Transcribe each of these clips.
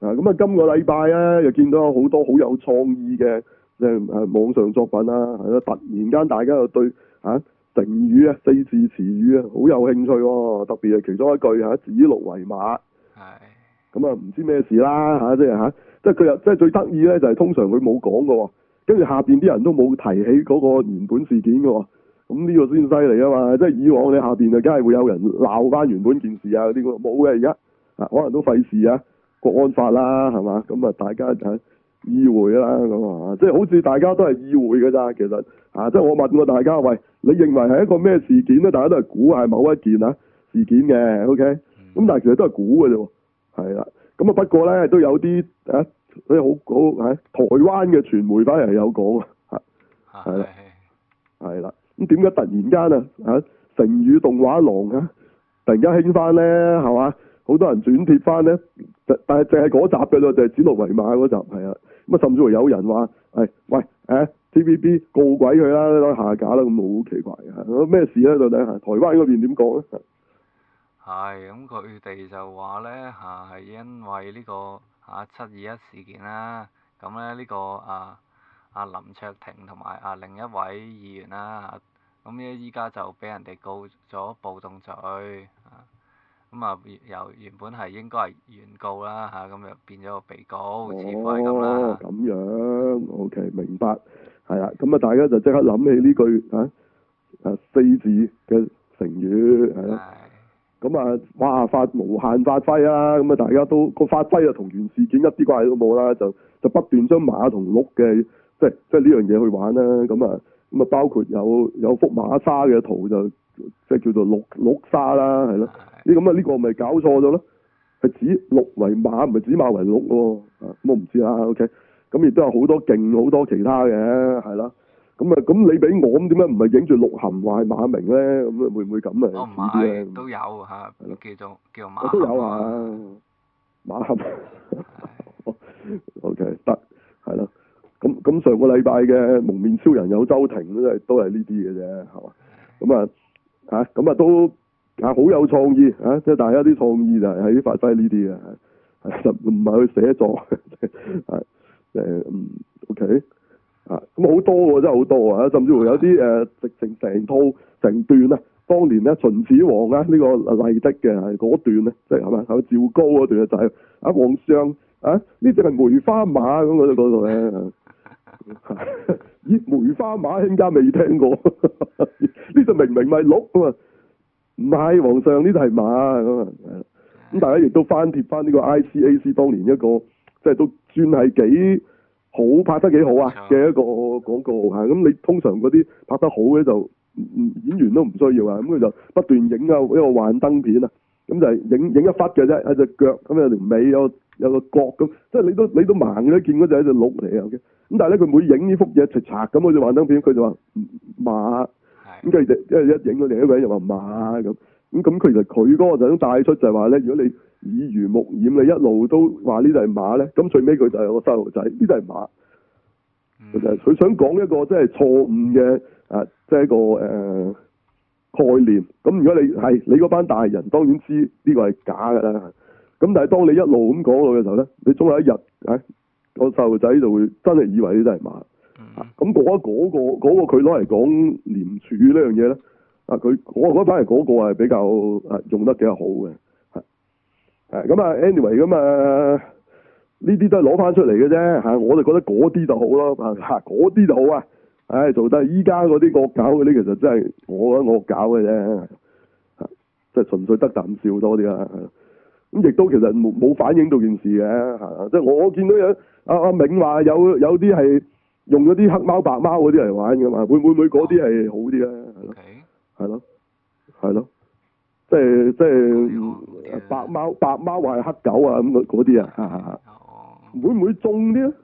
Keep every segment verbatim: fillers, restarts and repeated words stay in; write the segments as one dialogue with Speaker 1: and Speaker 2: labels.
Speaker 1: 啊，咁啊，今個禮拜咧又見到有好多好有創意嘅即係誒網上作品啦，係咯，突然間大家又對啊成語啊四字詞語啊好有興趣喎，特別係其中一句嚇指鹿為馬。係。咁啊，唔知咩事啦嚇，即係嚇，即係佢又即係最得意咧，就係通常佢冇講嘅喎，跟住下邊啲人都冇提起嗰個原本事件嘅喎，咁呢個先犀利啊嘛！即係以往你下邊就梗係會有人鬧翻原本件事啊嗰啲嘅，冇嘅而家啊，可能都費事啊。國安法啦，係嘛？咁啊，大家就意會啦，咁啊，即係好似大家都係意會嘅咋，其實啊，即係我問過大家，喂，你認為係一個咩事件咧？大家都係估係某一件啊事件嘅 ，OK？咁、嗯、但係其實都係估嘅啫，係啦。咁啊，不過咧都有啲啊，啲好好喺台灣嘅傳媒反而有講啊，係啦，係啦。咁點解突然間啊啊成語動畫廊啊突然間興翻咧，係嘛？好多人轉貼翻咧，但係淨係嗰集嘅啫，就係指鹿為馬嗰集，係啊。咁啊，甚至乎有人話，係喂，誒 T V B 告鬼佢啦，攞下架啦，咁好奇怪嘅，咩事咧？到底係台灣嗰邊點講咧？
Speaker 2: 係，咁佢哋就話咧嚇係因為呢個嚇七二一事件啦，咁咧呢個啊啊林卓廷同埋啊另一位議員啦嚇，咁咧依家就俾人哋告咗暴動罪啊。咁啊，由原本係應該係原告啦嚇，咁又變咗個被告，似乎係咁啦。
Speaker 1: 哦，咁樣 ，OK，明白，係啦，咁啊，大家就即刻諗起呢句啊啊四字嘅成語係咯，咁啊，哇發無限發揮啊，咁啊，大家都個發揮啊同原事件一啲關係都冇啦，就就不斷將馬同鹿嘅即係即係呢樣嘢去玩啦，咁啊咁啊，包括有有幅馬沙嘅圖就即係叫做鹿鹿沙啦，係咯。呢咁啊，呢個咪搞錯咗咯？係指鹿為馬，唔係指馬為鹿喎。啊，咁我唔知啦。OK，咁亦都有好多勁好多其他嘅，係啦。咁啊，咁你俾我咁點解唔係影住鹿晗話係馬明咧？咁會唔會咁啊？
Speaker 2: 哦，唔係，都有嚇，叫做叫馬。
Speaker 1: 都有啊，馬晗。OK，得，係咯。咁咁上個禮拜嘅蒙面超人有周庭都係都係呢啲嘅啫，係嘛？咁啊嚇，咁啊都。啊，好有創意啊！即係大家啲創意就係喺發揮呢啲嘅，係就唔係去寫作，係誒嗯 OK 啊，咁好多喎，真係好多啊！甚至乎有啲誒直情成套成段啊，當年咧秦始皇啊呢、這個麗的嘅係嗰段咧，即係係咪係趙高嗰段就係、是、啊皇上啊呢隻係梅花馬咁嗰度嗰度咧，咦梅花馬卿家未聽過，呢隻明明咪鹿啊嘛〜唔係皇上，呢度係馬咁啊！咁大家亦都翻貼翻呢個 I C A C 當年一個即係都算係幾好拍得幾好啊嘅一個廣告嚇。咁你通常嗰啲拍得好嘅就演員都唔需要啊。咁佢就不斷影啊一個幻燈片啊。咁就係影影一忽嘅啫，一隻腳咁有條尾有有個角咁，即係你都你都盲嘅見嗰隻係隻鹿嚟嘅。咁但係咧佢每影呢幅嘢齊齊咁好似幻燈片，佢就話馬。咁佢就因為一影到另一個人又話馬咁，咁咁其實佢嗰個就想帶出就係話咧，如果你耳濡目染，你一路都話呢度係馬咧，咁最尾佢就係個細路仔，呢度係馬。佢、嗯、就係佢想講一個即係錯誤嘅啊，即係一個誒、呃、概念。咁如果你係你嗰班大人當然知呢個係假㗎啦。咁但係當你一路咁講落嘅時候咧，你總有一日啊個細路仔就會真係以為呢度係馬。咁嗰嗰個嗰個佢攞嚟講廉署呢樣嘢咧，啊佢我覺得反而嗰個係比較啊用得幾好嘅，係係咁啊 anyway 咁啊呢啲都係攞翻出嚟嘅啫嚇，我就覺得嗰啲就好咯嚇，嗰啲就好啊，唉做得依家嗰啲惡搞嗰啲其實真係我覺得惡搞嘅啫，即係純粹得啖笑多啲啦，咁亦都其實冇冇反映到件事嘅嚇，即係我見到有阿阿銘話有有啲係。用咗啲黑貓白貓嗰啲嚟玩㗎嘛，會唔會嗰啲係好啲咧？係咯，係咯，即係即係白貓白貓話係黑狗啊咁嗰啲啊，會唔會中啲咧？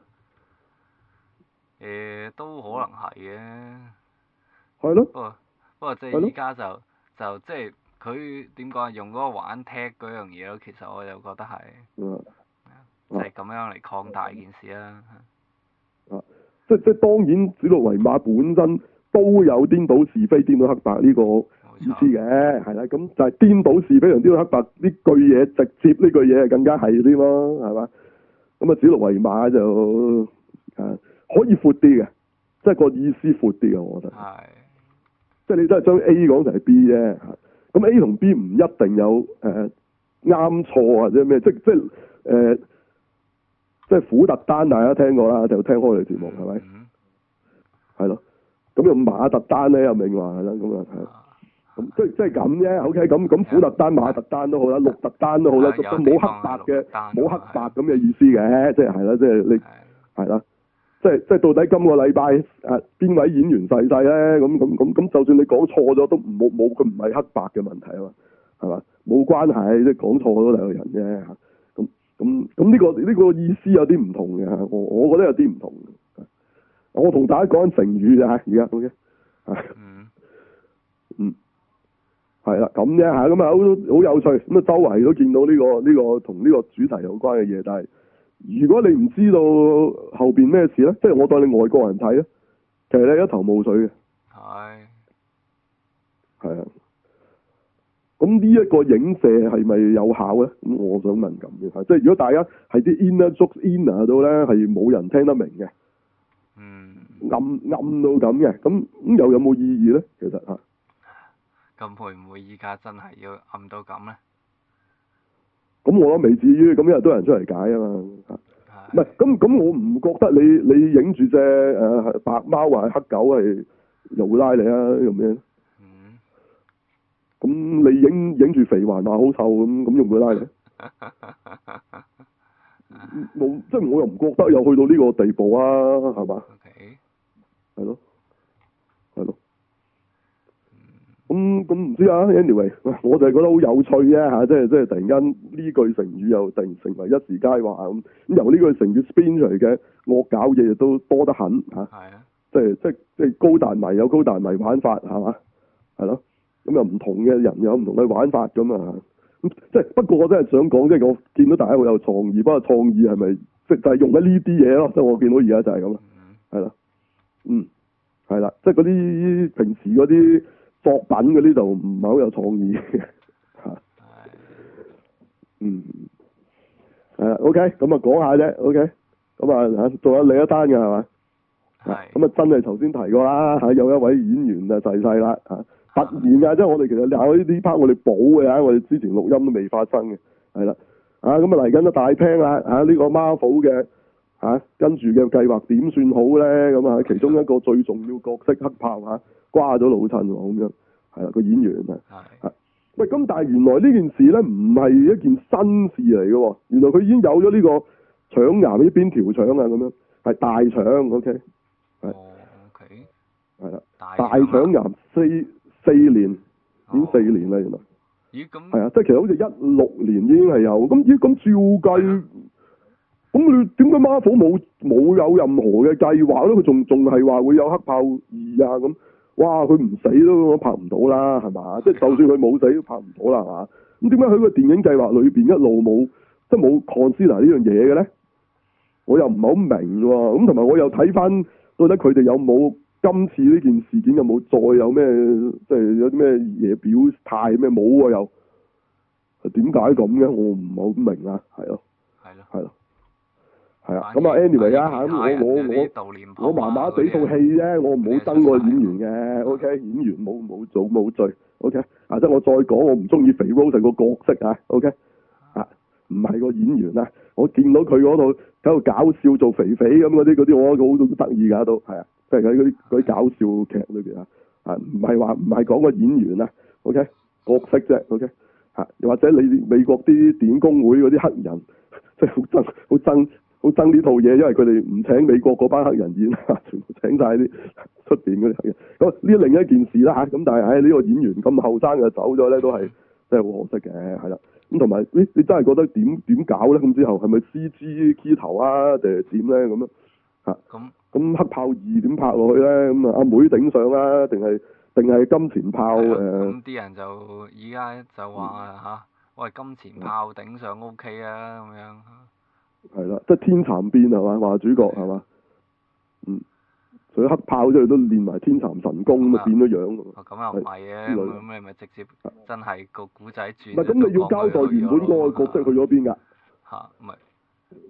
Speaker 2: 誒，都可能係嘅。
Speaker 1: 係咯。
Speaker 2: 不過不過即係依家就就即係佢點講啊？用嗰個玩踢嗰樣嘢咯，其實我就覺得係，
Speaker 1: 嗯，
Speaker 2: 即係咁樣嚟擴大件事啦。
Speaker 1: 啊。即即當然，指鹿為馬本身都有顛倒是非、顛倒黑白呢個意思嘅，係啦。咁就係顛倒是非同顛倒黑白呢句嘢，直接呢句嘢係更加係啲咯，係嘛？ 咁啊，指鹿為馬就啊可以闊啲嘅，即係個意思闊啲嘅，我覺得。
Speaker 2: 係。
Speaker 1: 即係你真係將 A 講成係 B 啫，咁 A 同 B 唔一定有誒啱錯或者咩，即即係誒、呃、即係虎特丹大家聽過啦，就聽開你節目係咪？係咯、嗯，咁用馬特丹咧，阿明話係啦，咁啊係，咁即係即係咁啫。OK，咁咁虎特丹、馬特丹都好啦，鹿特丹都好啦，都冇黑白嘅，冇黑白咁嘅意思嘅，即係係啦，即係你係啦。即係即係到底今個禮拜誒邊位演員逝世咧？咁咁咁咁，就算你講錯咗都冇冇佢唔係黑白嘅問題啊嘛，係嘛？冇關係，即係講錯咗兩個人啫嚇。咁咁咁呢個呢、呢個意思有啲唔同嘅，我我覺得有啲唔同。我同大家講緊成語咋，而家 OK 係嗯係啦咁啫嚇，咁啊好好有趣，咁啊周圍都見到呢、呢個呢、呢個同呢個主題有關嘅嘢，但係。如果你唔知道後邊咩事咧，即係我當你外國人睇咧，其實你一頭霧水嘅。係。係啊。咁呢一個影射係咪有效咧？咁我想問咁嘅，即係如果大家係啲 inner joke inner 到咧，係冇人聽得明嘅。嗯。暗暗到咁嘅，咁咁又有冇意義咧？其實嚇。
Speaker 2: 咁會唔會依家真係要暗到咁咧？
Speaker 1: 咁我都未至於，咁因為都有人出嚟解啊嘛，唔係咁咁，我唔覺得你你影住隻誒白貓或係黑狗係又會拉你啊咁樣。嗯。咁你影影住肥環話好臭咁，咁又唔會拉你？冇，即係我又唔覺得有去到呢個地步啊，係嘛？係咯，係咯。咁咁唔知啊 ，anyway，我就係覺得好有趣啫嚇，即係即係突然間呢句成語又突然成為一時佳話咁，咁由呢句成語 spin 出嚟嘅惡搞嘢都多得很嚇，係啊，即係即係即係高達迷有高達迷玩法係嘛，係咯，咁又唔同嘅人有唔同嘅玩法咁啊，咁即係不過我真係想講，即係我見到大家好有創意，不過創意係咪即係就係用緊呢啲嘢咯？即係我見到而家就係咁啦，係啦，嗯，係啦，即係嗰啲平時嗰啲。作品嗰啲就唔係好有創意嘅嚇，嗯，係啊 ，OK，咁啊講下啫 ，OK，咁啊嚇，仲有另一單嘅係嘛？係。咁啊真係頭先提過啦嚇，有一位演員啊逝世啦嚇，突然啊，即係我哋其實有呢啲 part 我哋補嘅嚇，我哋之前錄音都未發生嘅，係啦，啊咁啊嚟緊都大聽啦嚇，呢個 Marvel 嘅嚇跟住嘅計劃點算好咧？咁啊其中一個最重要角色黑豹嚇。瓜咗老襯喎，咁樣係啦個演員啊，係喂咁，但係原來呢件事咧唔係一件新事嚟嘅喎，原來佢已經有咗呢個腸癌呢邊條腸啊，咁樣係大腸 ，OK，係
Speaker 2: ，OK，
Speaker 1: 係啦，大腸癌四四年，已經四年啦，原來，
Speaker 2: 咦咁
Speaker 1: 係啊，即係其實好似一六年已經係有，咁咦咁照計，咁你點解 Marvel 冇冇有任何嘅計劃咧？佢仲仲係話會有黑豹二啊咁。哇！佢唔死都拍唔到啦，係嘛？即係就算佢冇死都拍唔到啦，係嘛？咁點解喺個電影計劃裏邊一路冇即係冇 consider 呢樣嘢嘅咧？我又唔係好明喎。咁同埋我又睇翻到底佢哋有冇今次呢件事件有冇再有咩即係有啲咩嘢表態咩冇喎又？點解咁嘅？我唔係好明啊，係咯，係咯，係咯。係啊，咁啊，anyway 啊嚇，咁我我我我麻麻地套戲啫，我唔好憎個演員嘅 ，OK，演員冇冇做冇罪 ，OK，啊即係我再講，我唔中意肥 Rose 個角色啊 ，OK，啊唔係個演員啊，我見到佢嗰度喺度搞笑做肥肥咁嗰啲嗰啲，我覺得好得意㗎都係啊，即係喺嗰啲嗰啲搞笑劇裏邊啊，啊唔係話唔係講個演員啊 ，OK，角色啫 ，OK，嚇又或者你美國啲電影工會嗰啲黑人，即係好憎好憎。好憎呢套嘢，因為佢哋唔請美國嗰班黑人演，全部請晒啲出邊嗰啲黑人。咁呢另一件事啦嚇，咁但係喺呢個演員咁後生就走咗咧，都係真係好可惜嘅，係啦。咁同埋，咦？你真係覺得點點搞咧？咁之後係咪 C G key 頭啊，定係點咧？咁樣嚇？咁咁黑豹二點拍落去咧？咁啊，阿妹頂上啊，定係定係金錢豹誒？
Speaker 2: 咁啲人就依家就話嚇，喂，金錢豹頂上 O K 啊，咁樣。
Speaker 1: 係啦，即係天蠶變係嘛，話主角係嘛，嗯，除咗黑豹之外都練埋天蠶神功咁啊，變咗樣喎。
Speaker 2: 咁又唔係嘅，咁你咪直接真係個古仔轉。
Speaker 1: 唔係咁，你要交代原本嗰個角色去咗邊㗎？
Speaker 2: 嚇，咪咪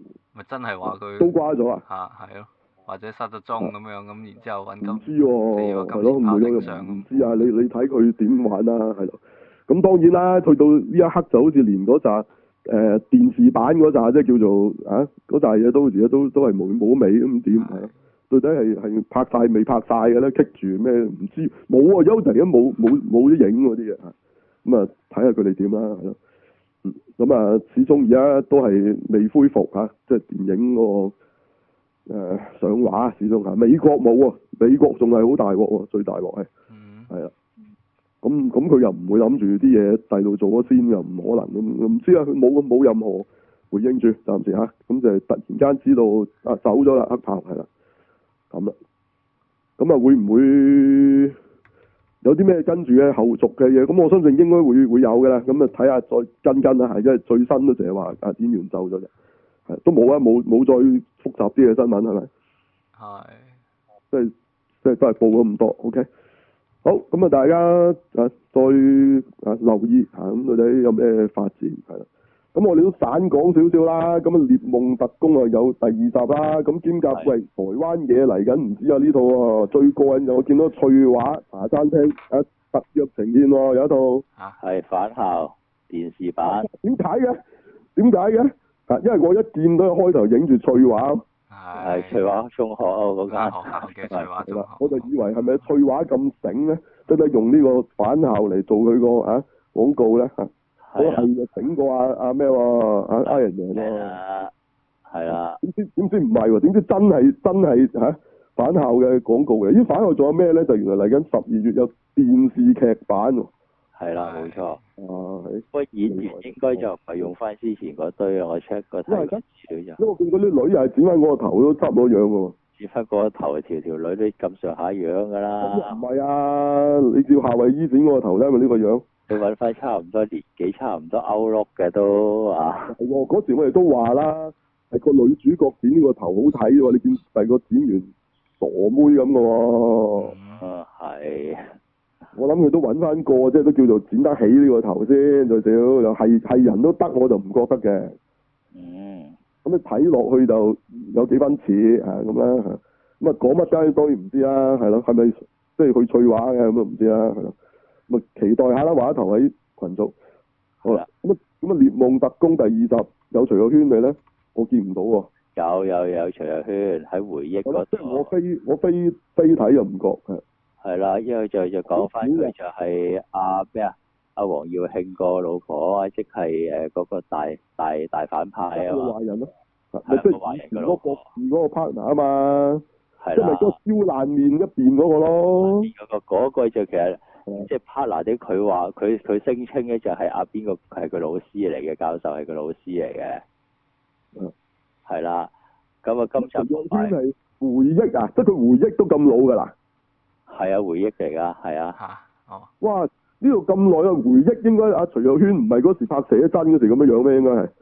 Speaker 2: 真係話佢
Speaker 1: 都瓜咗啊？
Speaker 2: 嚇係咯，或者失咗蹤咁樣，咁然之後揾
Speaker 1: 唔
Speaker 2: 金
Speaker 1: 知喎，
Speaker 2: 死咗
Speaker 1: 係咯，唔
Speaker 2: 金錢豹
Speaker 1: 會
Speaker 2: 頂上
Speaker 1: 唔知啊！你你睇佢點玩啦，係咯。咁當然啦，去到呢一刻就好似連嗰扎誒電視版嗰扎，即係叫做啊嗰扎嘢都而家都都係冇冇尾咁點係咯？到底係係拍晒未拍晒嘅咧？棘住咩唔知冇啊！優突然間冇冇冇啲影嗰啲嘢啊！咁啊睇下佢哋點啦，係咯。嗯，咁啊始終而家都係未恢復嚇、啊，即係電影嗰、個、呃、上畫始終嚇。美國冇喎，美國仲係好大鑊喎，最大鑊係係啊。咁咁佢又唔會諗住啲嘢第度做咗先，又唔可能咁，唔知啊。佢冇冇任何回應住，暫時嚇。咁就係突然間知道啊走咗啦，黑豹係啦。咁啦，咁啊會唔會有啲咩跟住嘅後續嘅嘢？咁我相信應該會會有嘅啦。咁啊睇下再跟跟啦，係因為最新都成日話啊演員走咗啫，係都冇啊，冇冇再複雜啲嘅新聞係咪？係，即係即係都係報咗咁多。OK，好，咁啊大家啊再啊留意嚇，咁到底有咩發展係啦。咁我哋都散講少少啦，咁啊《獵夢特工》啊有第二集啦，咁兼夾喂台灣嘢嚟緊，唔知啊呢套啊最過癮就我見到翠華茶餐廳啊特約呈現喎，有一套
Speaker 3: 係返校電視版。
Speaker 1: 點解嘅？點解嘅？啊，因為我一見到開頭影住翠華，
Speaker 3: 係翠華中學啊嗰間
Speaker 2: 學校嘅翠華中學，
Speaker 1: 我就以為係咪翠華咁醒咧，即係用呢個返校嚟做佢個啊廣告咧嚇。我係就整過阿阿咩喎，阿 Iron Man 喎，
Speaker 3: 係啦。
Speaker 1: 點知點知唔係喎？點知真係真係嚇返校嘅廣告嘅？咦，返校仲有咩咧？就原來嚟緊十二月有電視劇版喎。
Speaker 3: 係啦，冇錯。
Speaker 1: 啊，係。
Speaker 3: 不過演員應該就唔係用翻之前嗰堆啊，我 check 個睇資料就。
Speaker 1: 因為我見嗰啲女又係剪翻我個頭都差唔多樣嘅喎。
Speaker 3: 剪翻個頭，條條女都咁上下樣㗎啦。
Speaker 1: 唔係啊！你叫夏威夷剪我個頭咧，咪呢個樣？
Speaker 3: 你揾翻差唔多年紀、差唔多歐陸嘅都啊。
Speaker 1: 係喎，嗰時我哋都話啦，係個女主角剪呢個頭好睇喎，你見第二個剪完傻妹咁嘅喎。
Speaker 3: 嗯，係。
Speaker 1: 我諗佢都揾翻個，即係都叫做剪得起呢個頭先，最少又係係人都得，我就唔覺得嘅。
Speaker 3: 嗯。咁
Speaker 1: 你睇落去就有幾分似啊咁啦，咁啊講乜間當然唔知啦，係咯，係咪即係去翠華嘅咁都唔知啦，係咯。咁啊期待下啦，畫頭喺群組。好啦，咁啊咁啊獵夢特工第二集有徐若瑄未咧？我見唔到喎。
Speaker 3: 有有有徐若瑄喺回憶嗰度。
Speaker 1: 即係我飛我飛飛睇又唔覺係。
Speaker 3: 係啦，因為就就講翻佢就係阿咩啊，阿黃耀慶個老婆，即係誒嗰個大大大反派啊嘛。壞人咯。係個壞人個老婆。嗰個 partner 啊嘛。係啦。即係咪嗰個燒爛面一邊嗰個咯？嗰個嗰個就其實。即係 partner 啲，佢話佢佢聲稱咧就係阿邊個係佢老師嚟嘅，教授係佢老師嚟嘅。嗯。係啦。咁啊，今集徐若瑄係回憶啊，即係佢回憶都咁老㗎啦。係啊，回憶嚟㗎，係啊。嚇！哦。哇！呢度咁耐嘅回憶，應該阿徐若瑄唔係嗰時拍寫真嗰時咁樣樣咩？應該係。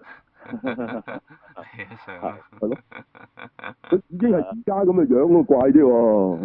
Speaker 3: 係。係咯。佢已經係而家咁嘅樣，咁怪啲喎。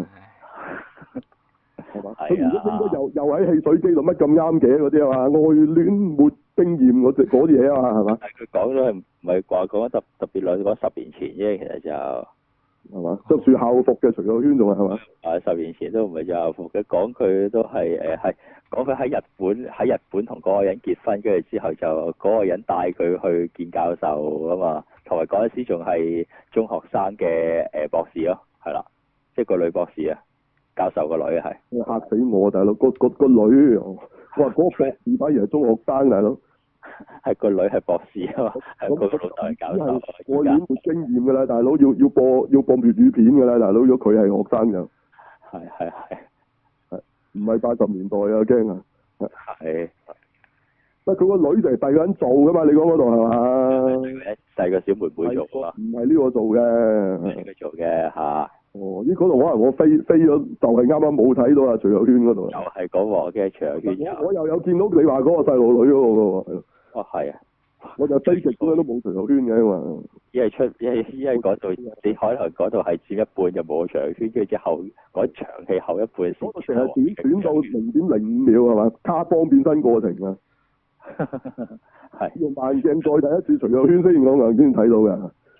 Speaker 3: 係嘛？佢而家應該又又喺汽水機度乜咁啱嘅嗰啲啊嘛，愛戀沒經驗嗰隻嗰啲嘢啊嘛，係嘛？佢講咗係唔係話講特特別耐講十年前啫，其實就係嘛？着住校服嘅徐若瑄仲係係嘛？啊，十年前都唔係着校服嘅，講佢都係誒係講佢喺日本喺日本同嗰個人結婚，跟住之後就嗰個人帶佢去見教授啊嘛，同埋嗰陣時仲係中學生嘅誒博士咯，係啦，即係個女博士啊。教授個女係，嚇死我大佬！個個個女，我話嗰個博士反而係中學生大佬，係個女係博士啊嘛，係個老豆係教授。我已經冇經驗㗎啦，大佬要要播要播粵語片㗎啦，大佬如果佢係學生就係係係係唔係八十年代啊驚啊！係，不過佢個女就係第二個人做㗎嘛？你講嗰度係嘛？細個小妹妹做啊？唔係呢個做嘅，係佢做嘅嚇。哦，呢嗰度可能我飛飛咗，就係啱啱冇睇到啊徐若瑄嗰度。就係嗰個嘅徐若瑄。我我又有見到你話嗰個細路女嗰個喎，係咯。哦，係啊。我就飛極都都冇徐若瑄嘅嘛。一係出一係一係嗰度，你可能嗰度係佔一半就冇徐若瑄，跟住之後嗰場戲後一半先。嗰個成日短短到零點零五秒係嘛？卡邦變身過程啊。係。用慢鏡再睇一次徐若瑄先，我硬先睇到嘅。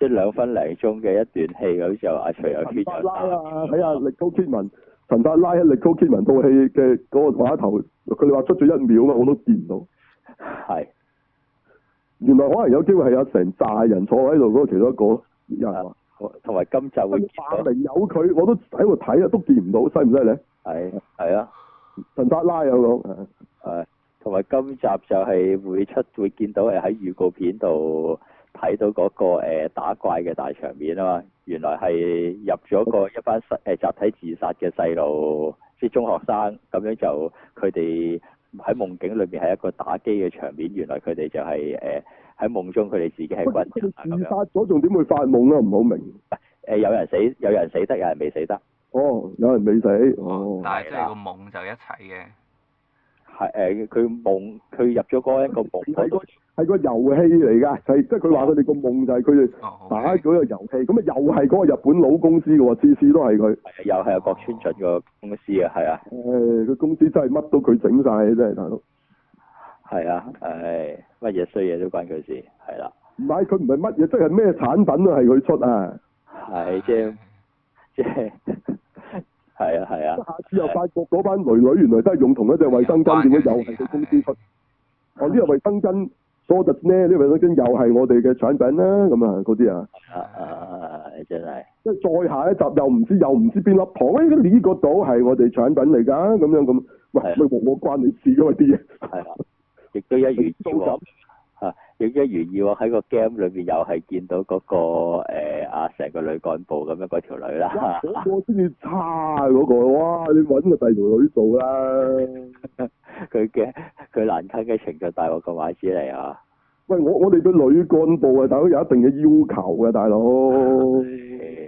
Speaker 3: 即係兩分零鐘嘅一段戲咁就阿徐有
Speaker 1: 陳法拉啊，喺阿力高基文，陳法拉喺力高基文套戲嘅嗰個畫頭，佢哋話出咗一秒嘛，我都見唔到。
Speaker 3: 係。
Speaker 1: 原來可能有機會係有成紮人坐喺度嗰個其中一個人啊。
Speaker 3: 同埋今集會見到。
Speaker 1: 化名有佢，我都喺度睇啊，都見唔到，犀唔犀利？
Speaker 3: 係係啊。
Speaker 1: 陳法拉有講。
Speaker 3: 係。同埋今集就係會出會見到誒喺預告片度睇到嗰、那個、呃、打怪嘅大場面啊嘛，原來係入咗個一班誒、呃、集體自殺嘅細路，即係中學生咁樣就佢哋喺夢境裏面係一個打機嘅場面，原來佢哋就係誒喺夢中佢哋自己係軍人啊咁樣。自殺咗仲點會發夢啊？唔好明。誒、呃、有人死有人死得，有人未死得。哦，有人未死。哦。
Speaker 2: 但係即係個夢就一齊嘅。
Speaker 1: 係誒，佢夢佢入咗嗰一個夢，係個係個遊戲嚟㗎，係即係佢話佢哋個夢就係佢哋打嗰個遊戲，咁啊又係嗰個日本佬公司嘅喎，次次都係佢。又係阿郭川俊個公司啊，係啊。誒，佢公司真係乜都佢整晒，真係大佬。係啊，誒，乜嘢衰嘢都關佢事，係啦。唔係佢唔係乜嘢，即係咩產品都係佢出啊。係即係即係。係啊係啊，下次又發覺嗰班女女原來都係用同一隻衛生巾，點解又係佢公司出？哦，呢個衛生巾梳特呢？呢個衛生巾又係我哋嘅產品啦，咁啊嗰啲啊。啊啊！真係。即係再下一集又唔知又唔知邊粒糖，誒呢個島係我哋產品嚟㗎，咁樣咁，喂，咪我我關你事㗎嘛啲嘢。係啦，亦都一如以往。啊！亦一如以往喺個 game 裏邊又係見到嗰、那個誒啊成個女幹部咁樣嗰條女啦。嗰個先至差嗰、那個，哇！你揾個第二條女做啦。佢嘅佢難啃嘅程度大過個馬子嚟啊！喂，我我哋對女幹部啊，大佬有一定嘅要求嘅，大佬。係。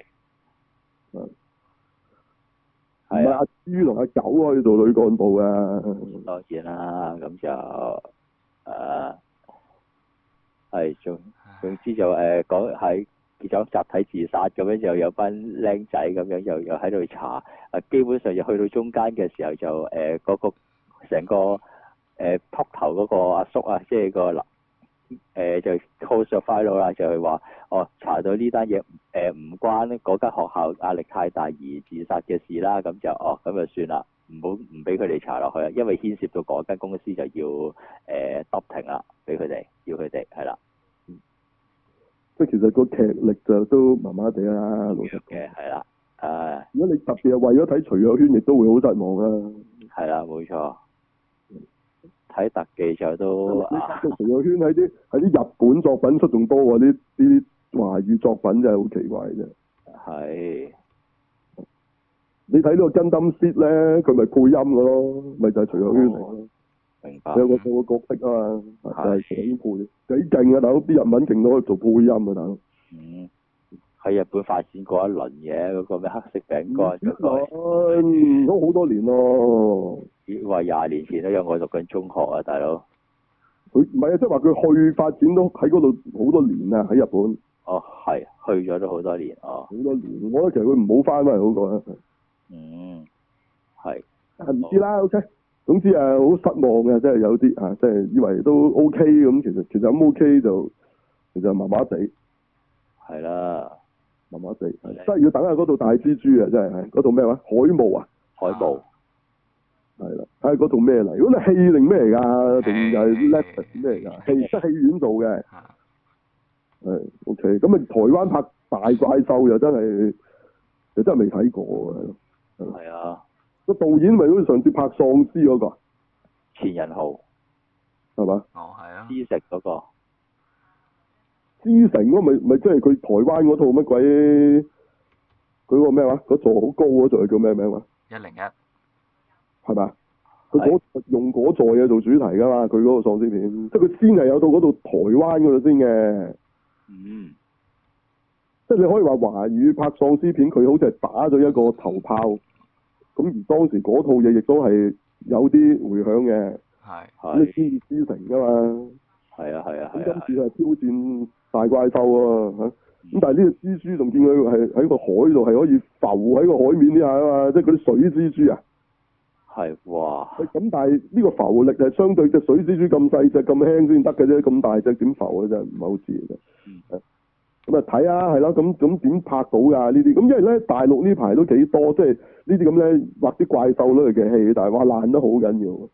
Speaker 1: 唔係阿豬同阿狗可以做女幹部啊？當然啦，咁就誒。啊係，總總之就誒講喺結咗集體自殺咁樣，就有班僆仔咁樣又又喺度查，啊基本上就去到中間嘅時候就誒嗰、呃那個成個誒禿頭嗰個阿叔啊，即係個嗱誒就 close 咗 file 啦，就係話哦查到呢單嘢誒唔關嗰間學校壓力太大而自殺嘅事啦，咁就哦咁就算啦，唔好唔俾佢哋查落去啦，因為牽涉到嗰間公司就要誒 stop 停啦，俾佢哋要佢哋係啦。即係其實個劇力就都麻麻地啦，老實嘅係啦。誒，如果你特別係為咗睇徐若瑄，亦都會好失望啦。係啦，冇錯。睇特技就都。徐若瑄喺啲喺啲日本作品出仲多喎，啲啲華語作品真係好奇怪啫。係。你睇呢個 Gundam Seed咧，佢咪配音嘅咯，咪就係徐若瑄嚟咯。明白。有個有個角色啊嘛，就係徐若瑄配。幾勁啊！大佬啲日文勁到可以做配音啊！大佬。嗯。喺日本發展過一輪嘅嗰個咩黑色餅乾嗰個。都好多年咯。話廿年前都有我讀緊中學啊，大佬。佢唔係啊，即係話佢去發展都喺嗰度好多年啊，喺日本。哦，係去咗都好多年哦。好多年，我覺得其實佢唔好翻翻嚟好過啊。嗯。係。係唔知啦 ，OK。總之誒，好失望嘅，即係有啲啊，即係以為都 OK 咁，其實其實咁 OK 就其實麻麻地。係啦，麻麻地，真係要等下嗰度大蜘蛛啊！真係，嗰度咩話？海霧啊？海霧。係啦，睇下嗰度咩嚟？如果你戲定咩嚟㗎？定係 Netflix 咩嚟㗎？戲得戲院做嘅。係 OK，咁啊，台灣拍大怪獸又真係，又真係未睇過啊！係啊。個導演咪好似上次拍喪屍嗰個錢人豪係嘛？哦，係啊。知食嗰個知城嗰咪咪即係佢台灣嗰套乜鬼？佢個咩話？嗰座好高嗰座叫咩名話？一零一係嘛？佢嗰用嗰座嘢做主題㗎嘛？佢嗰個喪屍片，即係佢先係有到嗰度台灣嗰度先嘅。嗯。即係你可以話華語拍喪屍片，佢好似係打咗一個頭炮。咁而當時嗰套嘢亦都係有啲迴響嘅，係咁你先至知成㗎嘛，係啊係啊，咁今次係挑戰大怪獸喎嚇，咁但係呢個蜘蛛仲見佢係喺個海度係可以浮喺個海面之下啊嘛，即係嗰啲水蜘蛛啊，係哇，咁但係呢個浮力係相對隻水蜘蛛咁細隻咁輕先得嘅啫，咁大隻點浮嘅啫，唔係好似嘅啫， 咁啊睇啊，係咯，咁咁點拍到㗎呢啲？咁因為咧大陸呢排都幾多，即係呢啲咁咧畫啲怪獸類嘅戲，但係話爛得好緊要。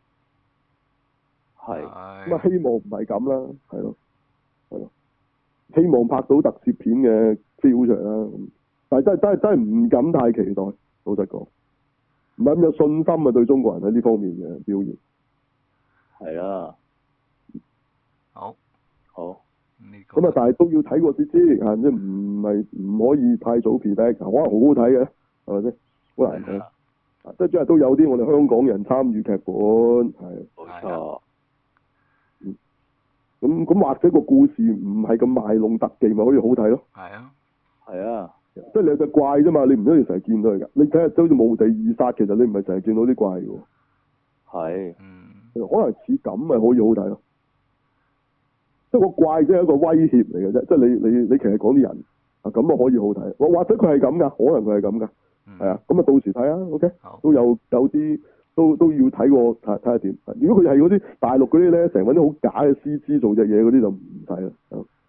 Speaker 3: 係。
Speaker 1: 咁啊，希望唔係咁啦，係咯，係咯，希望拍到特攝片嘅 feel 出嚟啦。但係真係真係真係唔敢太期待，老實講，唔係咁有信心啊對中國人喺呢方面嘅表現。
Speaker 3: 係啦。
Speaker 2: 好。
Speaker 3: 好。
Speaker 1: 咁啊，但係都要睇過先知，啊，即係唔係唔可以太早 predict，可能好好睇嘅，係咪先？好難講。啊，即係即係都有啲我哋香港人參與劇本，係。
Speaker 3: 冇錯。
Speaker 1: 嗯。咁咁或者個故事唔係咁賣弄特技，咪可以好睇咯。
Speaker 2: 係啊。
Speaker 3: 係啊。
Speaker 1: 即係你有隻怪啫嘛，你唔一定成日見到佢㗎。你睇下好似無地二殺，其實你唔係成日見到啲怪嘅喎。
Speaker 3: 係。
Speaker 2: 嗯。
Speaker 1: 可能似咁咪可以好睇咯。即係個怪即係一個威脅嚟嘅啫，即係你你你其實講啲人啊，咁啊可以好睇，或或者佢係咁噶，可能佢係咁噶，係、嗯、啊，咁啊到時睇啊 ，OK，都有有啲都都要睇過睇睇下點。如果佢係嗰啲大陸嗰啲咧，成日搵啲好假嘅 C G 做隻嘢嗰啲就唔睇啦。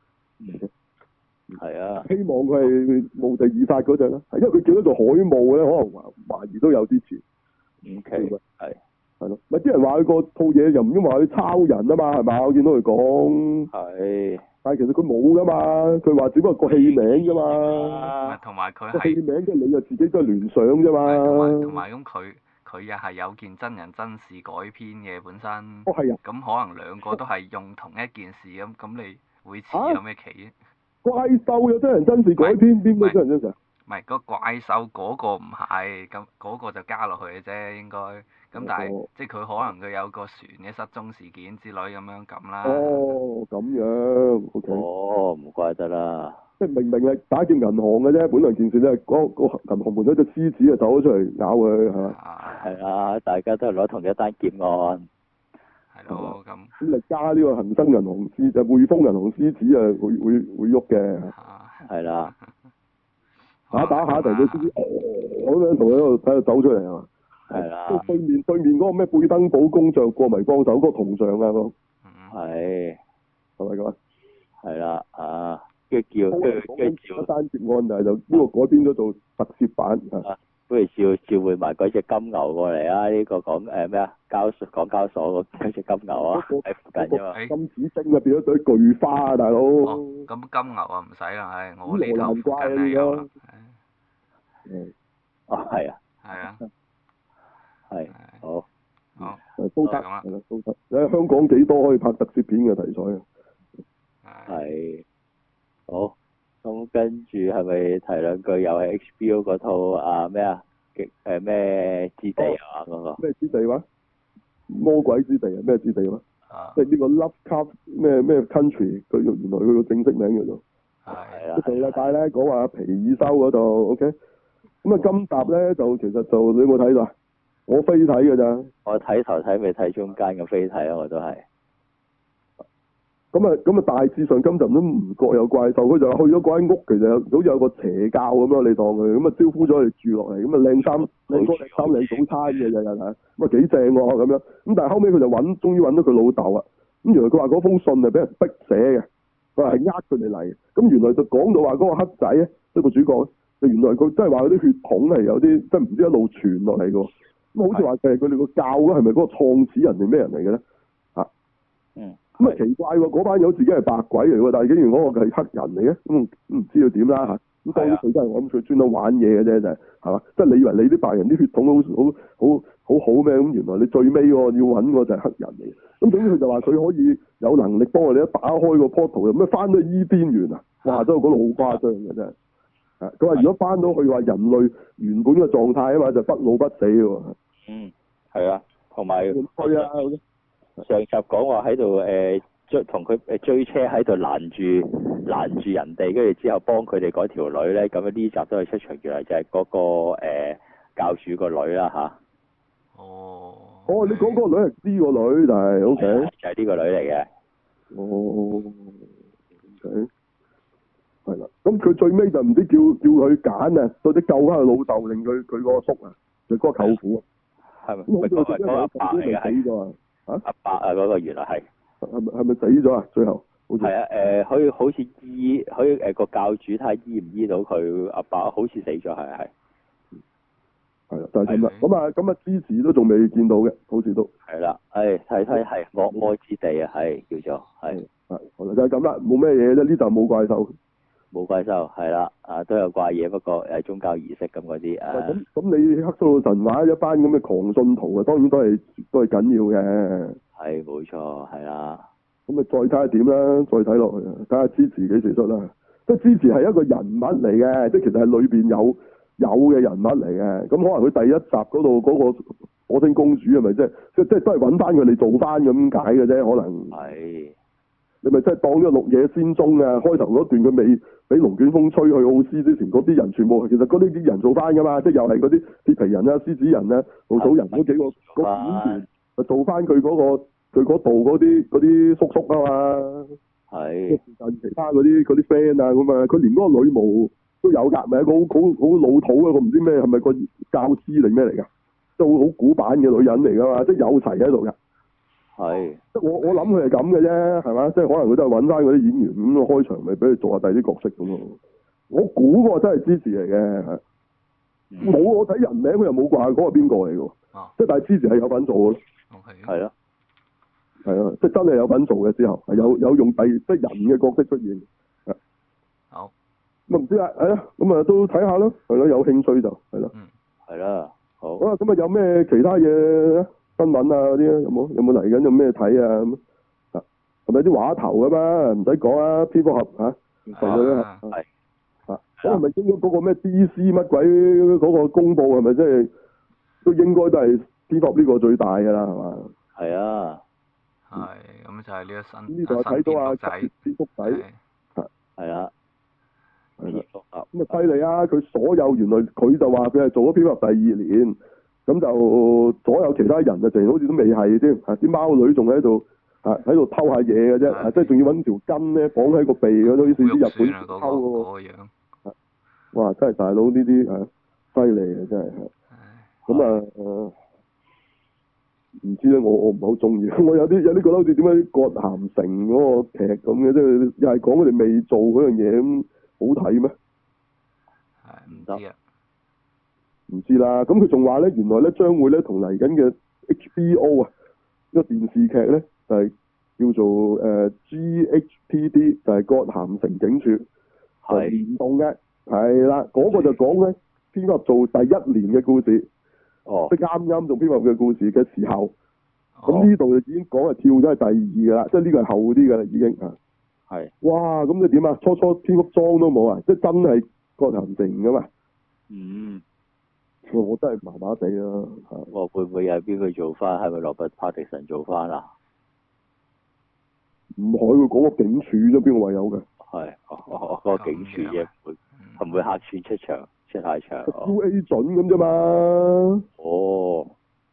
Speaker 1: 係、okay?
Speaker 3: 啊。
Speaker 1: 希望佢係無地二殺嗰隻啦，因為佢叫得做海霧咧，可能懷懷疑都有啲似。
Speaker 3: OK。係。
Speaker 1: 係咯，咪啲人話佢個套嘢又唔應話佢抄人啊嘛，係嘛？我見到佢講。係。但係其實佢冇噶嘛，佢話只不過個戲名啫嘛。
Speaker 2: 同埋佢
Speaker 1: 係。戲名即係你又自己都係聯想啫嘛。
Speaker 2: 同埋同埋咁佢佢又係有件真人真事改編嘅本身。
Speaker 1: 哦，係啊。
Speaker 2: 咁可能兩個都係用同一件事咁，咁你會似有咩奇？
Speaker 1: 怪獸有真人真事改編，邊個真人真事啊？
Speaker 2: 唔係，個怪獸嗰個唔係，咁嗰個就加落去嘅啫，應該。咁但係、哦、即係佢可能佢有個船嘅失蹤事件之類咁樣咁啦。哦，咁樣。O K。哦，
Speaker 3: 唔怪得啦。
Speaker 1: 即係明明係打劫銀行嘅啫，本來件事咧，嗰、嗰個銀行門口隻獅子啊走咗出嚟咬佢，係嘛？
Speaker 3: 係啊，大家都係攞同一單劫案。
Speaker 2: 係咯，咁。
Speaker 1: 咁你加呢個恒生銀行獅就匯豐銀行獅子啊，會會會喐嘅。
Speaker 3: 係啦。
Speaker 1: 打打下突然間獅子，咁樣同佢喺度喺度走出嚟啊！
Speaker 3: 係啦。
Speaker 1: 即係對面對面嗰個咩貝登堡工匠過迷幫手嗰個銅像啊，咁。
Speaker 3: 係。
Speaker 1: 係咪咁啊？
Speaker 3: 係啦，啊，跟住叫跟住跟住
Speaker 1: 召單劫案，但係就呢個改編咗做特攝版啊。
Speaker 3: 不如召召喚埋嗰隻金牛過嚟啊！呢個講誒咩啊？交港交所嗰隻金牛啊，喺附近啫嘛。
Speaker 1: 金子星啊，變咗對巨花啊，大佬。
Speaker 2: 哦，咁金牛啊唔使啦，唉，我呢頭附近係有啦。
Speaker 1: 嗯。
Speaker 3: 哦，係啊。
Speaker 2: 係啊。
Speaker 3: 係。好。
Speaker 2: 好。
Speaker 1: 都得，係啦，都得。你喺香港幾多可以拍特攝片嘅題材啊？
Speaker 3: 係。好。咁跟住係咪提兩句？又係 H B O 嗰套啊咩啊？極誒咩之地啊嗰個？咩之地話？魔鬼之地啊？咩之地話？啊！即係呢個 Lovecraft 咩咩 Country，佢原來佢個正式名叫做。係啦。上禮拜咧講話皮爾修嗰度 ，OK。咁啊，今集咧就其實就你有冇睇到啊？我飛睇㗎咋。我睇頭睇未睇中間嘅飛睇啊，我都係。咁啊，咁啊，大致上今集都唔覺有怪獸，佢就去咗嗰間屋，其實好似有個邪教咁咯，你當佢咁啊招呼咗佢哋住落嚟，咁啊靚衫靚哥靚衫靚早餐嘅日日係，咁啊幾正喎咁樣，咁但係後尾佢就揾，終於揾到佢老豆啊，咁原來佢話嗰封信係俾人逼寫嘅，佢話係呃佢哋嚟，咁原來就講到話嗰個黑仔咧，即係個主角咧，就原來佢真係話佢啲血統係有啲，即係唔知一路傳落嚟嘅，咁好似話係佢哋個教咧，係咪嗰個創始人定咩人嚟嘅咧？嚇，嗯。咁啊奇怪喎！嗰班友自己係白鬼嚟喎，但係竟然嗰個係黑人嚟嘅，咁唔知佢點啦嚇。咁當然佢真係我諗佢專登玩嘢嘅啫，就係係嘛？即係你以為你啲白人啲血統好好好好好咩？咁原來你最尾喎要揾個就係黑人嚟嘅。咁總之佢就話佢可以有能力幫我哋一打開個 portal，又咩翻到伊甸園啊？哇！真係嗰度好誇張嘅真係。係佢話如果翻到去話人類原本嘅狀態啊嘛，就不老不死嘅喎。嗯，係啊，同埋去啊！上集講話喺度誒追同佢誒追車喺度攔住攔住人哋，跟住之後幫佢哋嗰條女咧，咁樣呢集都係出場，原來就係嗰、那個誒、呃、教主個女啦吓。哦。哦，你講嗰個女係呢個女，但係 O K。就係、是、呢個女嚟嘅。哦。O K。係啦，咁佢最尾就唔知叫叫佢揀啊，到底救翻佢老豆，令佢佢個叔啊，就嗰、是、個舅父啊。係咪？咁佢嗰個阿伯嚟嘅係。啊！阿伯啊，嗰、那個原來係係咪係咪死咗啊？最後
Speaker 1: 好似
Speaker 3: 係啊，誒、可以好似醫，可以誒個、教主睇下醫唔醫到佢阿爸，好似死咗，係係
Speaker 1: 係啦，就係咁啦。
Speaker 2: 係
Speaker 1: 咁啊，咁啊，支持都仲未見到嘅，好似都
Speaker 3: 係啦，誒睇睇係惡魔之地啊，係叫做係
Speaker 1: 係好啦，就係咁啦，冇咩嘢啫。呢集冇怪獸。
Speaker 3: 冇怪獸，係啦，啊都有怪嘢，不過誒宗教儀式咁嗰啲啊，
Speaker 1: 咁咁你克蘇魯神話一班咁嘅狂信徒啊，當然都係都係緊要嘅。
Speaker 3: 係冇錯，係啦，
Speaker 1: 咁啊，再睇下點啦，再睇落去啊，睇下支持幾時出啦。即係支持係一個人物嚟嘅，即係其實係裏邊有有嘅人物嚟嘅。咁可能佢第一集嗰度嗰個火星公主係咪即係即即係都係揾翻佢哋做翻咁解嘅啫？可能
Speaker 3: 係
Speaker 1: 你咪真係當咗綠野仙蹤啊！開頭嗰段佢未俾龍捲風吹去奧斯之前，嗰啲人全部其實嗰啲啲人做翻噶嘛，即係又係嗰啲鐵皮人啊、獅子人啊、稻草人嗰幾個個演員，就做翻佢嗰個佢嗰度嗰啲嗰啲叔叔啊嘛。
Speaker 3: 係
Speaker 1: 其他嗰啲嗰啲 friend 啊咁啊，佢連嗰個女巫都有㗎，咪一個好好好老土啊！個唔知咩係咪個教師定咩嚟㗎？都好古板嘅女人嚟㗎嘛，即係有齊喺度㗎。
Speaker 3: 係
Speaker 1: 即係我我諗佢係咁嘅啫，係嘛？即係可能佢都係揾翻嗰啲演員咁開場，咪俾佢做下第啲角色咁咯。我估嗰個真係支持嚟嘅，係冇、
Speaker 3: 嗯
Speaker 1: 我睇人名佢又冇話嗰個邊個嚟㗎。
Speaker 2: 啊
Speaker 1: 即係但係支持係有份做嘅咯。
Speaker 2: ，OK，
Speaker 3: 係咯，
Speaker 1: 係啊，即係真係有份做嘅之後，係有有用第即係人嘅角色出現。
Speaker 2: 好，
Speaker 1: 咁啊唔知啊，係啊，咁啊都睇下咯，係咯，有興趣就係咯。
Speaker 2: 嗯，
Speaker 3: 係啦，好
Speaker 1: 好啦，咁啊有咩其他嘢新聞啊嗰啲啊？有冇有冇嚟緊有咩睇啊？咁啊係咪啲話頭啊嘛？唔使講啊，蝙蝠俠嚇，係佢啊
Speaker 2: 啊
Speaker 3: 係
Speaker 1: 啊，咁係咪應該嗰個咩 D C 乜鬼嗰個公佈係咪即係都應該都係蝙蝠俠呢個最大㗎啦係嘛？
Speaker 3: 係啊，
Speaker 2: 係，咁就係呢個新
Speaker 1: 呢度係睇到啊
Speaker 2: 新
Speaker 1: 蝙蝠仔。
Speaker 2: 係
Speaker 3: 係啦，
Speaker 1: 係啦，
Speaker 3: 蝙蝠俠
Speaker 1: 咁啊犀利啊！佢所有原來佢就話佢係做咗蝙蝠俠第二年，咁就所有其他人啊，淨好似都未係添，啊啲貓女仲喺度啊喺度偷下嘢嘅啫，啊即係仲要揾條筋咧綁喺個鼻嗰度，好似啲日本
Speaker 2: 啊嗰個
Speaker 1: 偷嗰
Speaker 2: 嗰個樣，
Speaker 1: 個，哇！真係大佬呢啲啊犀利啊真係，
Speaker 2: 唉
Speaker 1: 咁啊誒唔知咧，我我唔係好中意，我有啲有啲覺得好似點解葛咸城嗰個劇咁嘅，即係又係講佢哋未做嗰樣嘢咁好睇咩？
Speaker 2: 係唔知啊，
Speaker 1: 唔知啦，咁佢仲話咧，原來咧將會咧同嚟緊嘅 H B O 啊，呢個電視劇咧就係、叫做誒、呃、G H P D，就係葛咸城警署，係聯動嘅，係啦，嗰、個就講咧蝙蝠俠做第一年嘅故事，
Speaker 3: 哦
Speaker 1: 即係啱啱做蝙蝠俠嘅故事嘅時候，咁
Speaker 3: 哦
Speaker 1: 呢度就已經講係跳咗係第二㗎啦，即係呢個係後啲㗎啦已經啊，
Speaker 3: 係
Speaker 1: 哇，咁你點啊？初初蝙蝠裝都冇啊，即係真係葛咸城㗎嘛？
Speaker 3: 嗯，
Speaker 1: 我我真係麻麻地啦嚇。
Speaker 3: 我會唔會又係邊個做翻？係咪羅拔帕迪神做翻啊？
Speaker 1: 唔可以講個警署啫，邊個話有嘅
Speaker 3: 係，哦哦嗰個警署啫，會係唔會客串出場出下場？哦
Speaker 1: ？U A 準咁啫嘛，
Speaker 3: 哦，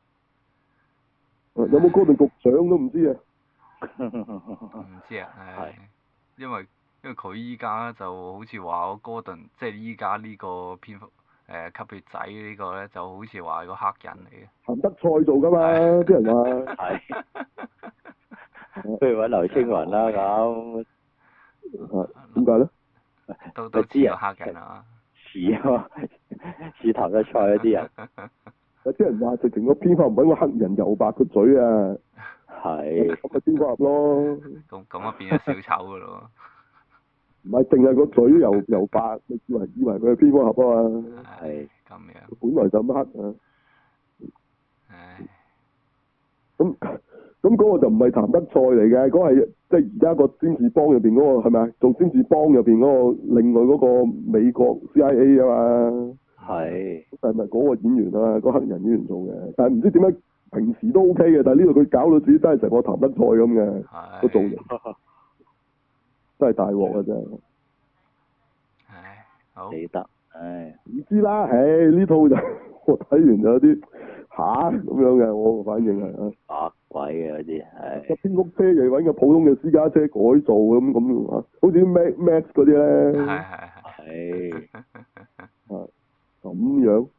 Speaker 1: 有冇嗰段局長都唔知啊。
Speaker 2: 唔知啊，係，因為因為佢依家就好似話嗰哥頓，即係依家呢個蝙蝠誒吸血仔呢個咧，就好似話係個黑人嚟嘅。
Speaker 1: 譚德賽做噶嘛，啲人話
Speaker 3: 係，不如揾劉青雲啦咁，
Speaker 1: 啊點解咧？
Speaker 2: 都都知個黑人啊，
Speaker 3: 似啊嘛，似譚德賽嗰啲人，
Speaker 1: 有啲人話直情個蝙蝠唔揾個黑人油白個嘴啊，
Speaker 3: 係，
Speaker 1: 咁咪蝙蝠俠咯，
Speaker 2: 咁咁啊變咗小丑噶咯
Speaker 1: 唔係淨係個嘴油油白，你以為以為佢係蝙蝠俠啊嘛，
Speaker 2: 喎。
Speaker 3: 係
Speaker 2: 咁樣，
Speaker 1: 本來就咁黑啊，
Speaker 2: 唉，
Speaker 1: 咁咁嗰個就唔係譚德賽嚟嘅，嗰、個係即係而家個詹士邦入邊嗰個係咪啊？做詹士邦入邊嗰個另外嗰個美國 C I A 啊嘛。
Speaker 3: 係，
Speaker 1: 係咪嗰個演員啊？個黑人演員做嘅，但係唔知點解平時都 O K 嘅，但係呢度佢搞到自己真係成個譚德賽咁嘅個造
Speaker 2: 係，
Speaker 1: 型，真係大鑊啊！真係
Speaker 2: 唉，好，
Speaker 3: 記得，唉，
Speaker 1: 唔知啦，唉呢套就我睇完就有啲吓咁樣嘅，我個反應係啊，
Speaker 3: 白鬼嘅嗰啲，係
Speaker 1: 個，蝙蝠車又揾個普通嘅私家車改造咁咁啊，好似啲 Max Max 嗰啲咧，
Speaker 2: 係係係，
Speaker 3: 係，
Speaker 1: 啊咁樣，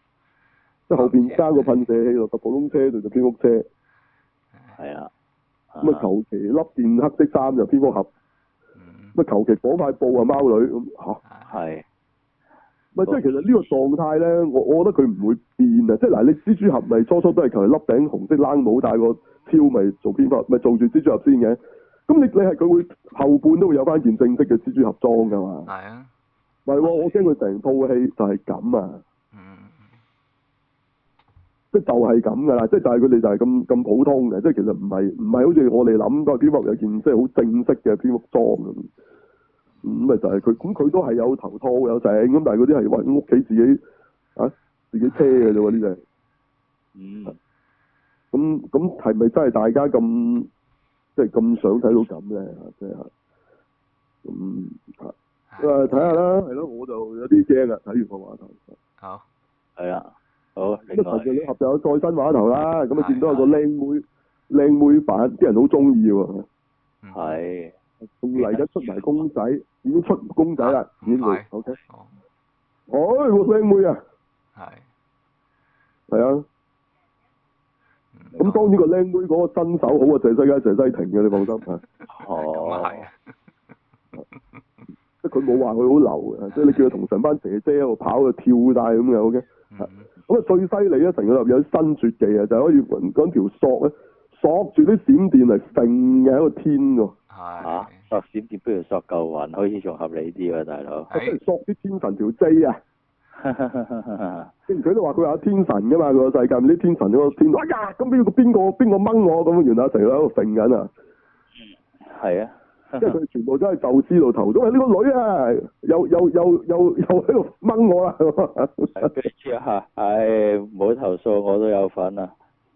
Speaker 1: 即係後邊加個噴射器落個普通車度就蝙蝠車。
Speaker 3: 係啊，啊，
Speaker 1: 咁啊求其笠件黑色衫就蝙蝠俠，
Speaker 2: 嗯，
Speaker 1: 咁啊求其綁塊布啊貓女咁嚇。
Speaker 3: 係。
Speaker 1: 咪即係其實呢個狀態咧，我我覺得佢唔會變啊！即係嗱，你蜘蛛俠咪初初都係求其笠頂紅色冷帽，戴個超咪做蝙蝠俠，咪做住蜘蛛俠先嘅。咁你你係佢會後半都會有翻件正式嘅蜘蛛俠裝㗎嘛？
Speaker 2: 係啊，
Speaker 1: 唔係喎，我驚佢成套戲就係咁啊！
Speaker 2: 嗯，
Speaker 1: 即係就係咁㗎啦，即係就係佢哋就係咁咁普通嘅，即係其實唔係唔係好似我哋諗個蝙蝠俠有件即係好正式嘅蝙蝠裝咁。咁咪、嗯、就係佢，咁佢都係有頭套有成，咁但係嗰啲係揾屋企自己啊自己車嘅啫喎，呢隻。
Speaker 3: 嗯。
Speaker 1: 咁咁係咪真係大家咁即係咁想睇到咁咧？即係咁啊，誒睇下啦，係咯，我就有啲驚啊！睇完個話頭。
Speaker 2: 好。
Speaker 3: 係啦。好。另
Speaker 1: 咁神奇女俠就有再新話頭啦，咁啊見到有個靚妹靚妹版，啲人好中意喎。
Speaker 3: 係。
Speaker 1: 仲嚟緊出埋公仔，已經出公仔啦，已經會 OK。
Speaker 2: 哦。
Speaker 1: 哦，個靚妹啊！
Speaker 2: 係。
Speaker 1: 係啊。咁當然個靚妹嗰個身手好啊，謝西佳、謝西婷嘅，你放心嚇。
Speaker 2: 咁啊係。
Speaker 1: 即係佢冇話佢好流嘅，即係你叫佢同成班姐姐喺度跑啊跳帶咁嘅 OK。咁啊最犀利咧，成個入有啲新絕技啊，就係可以揾條索咧，索住啲閃電嚟揈嘅喺個天喎。
Speaker 2: 係。
Speaker 3: 嚇！索閃電不如索嚿雲，好似仲合理啲喎，大佬。
Speaker 1: 即係索啲天神條 J 啊！之前佢都話佢有天神㗎嘛，佢個世界啲天神嗰個天，哎呀咁邊個邊個邊個掹我咁，原來成日喺度揈緊啊！
Speaker 3: 係啊，
Speaker 1: 即係佢哋全部都係宙斯度頭，因為呢個女啊，又又又又又喺度掹我啦。
Speaker 3: 跟住嚇，唉，唔好投訴，我都有份啊。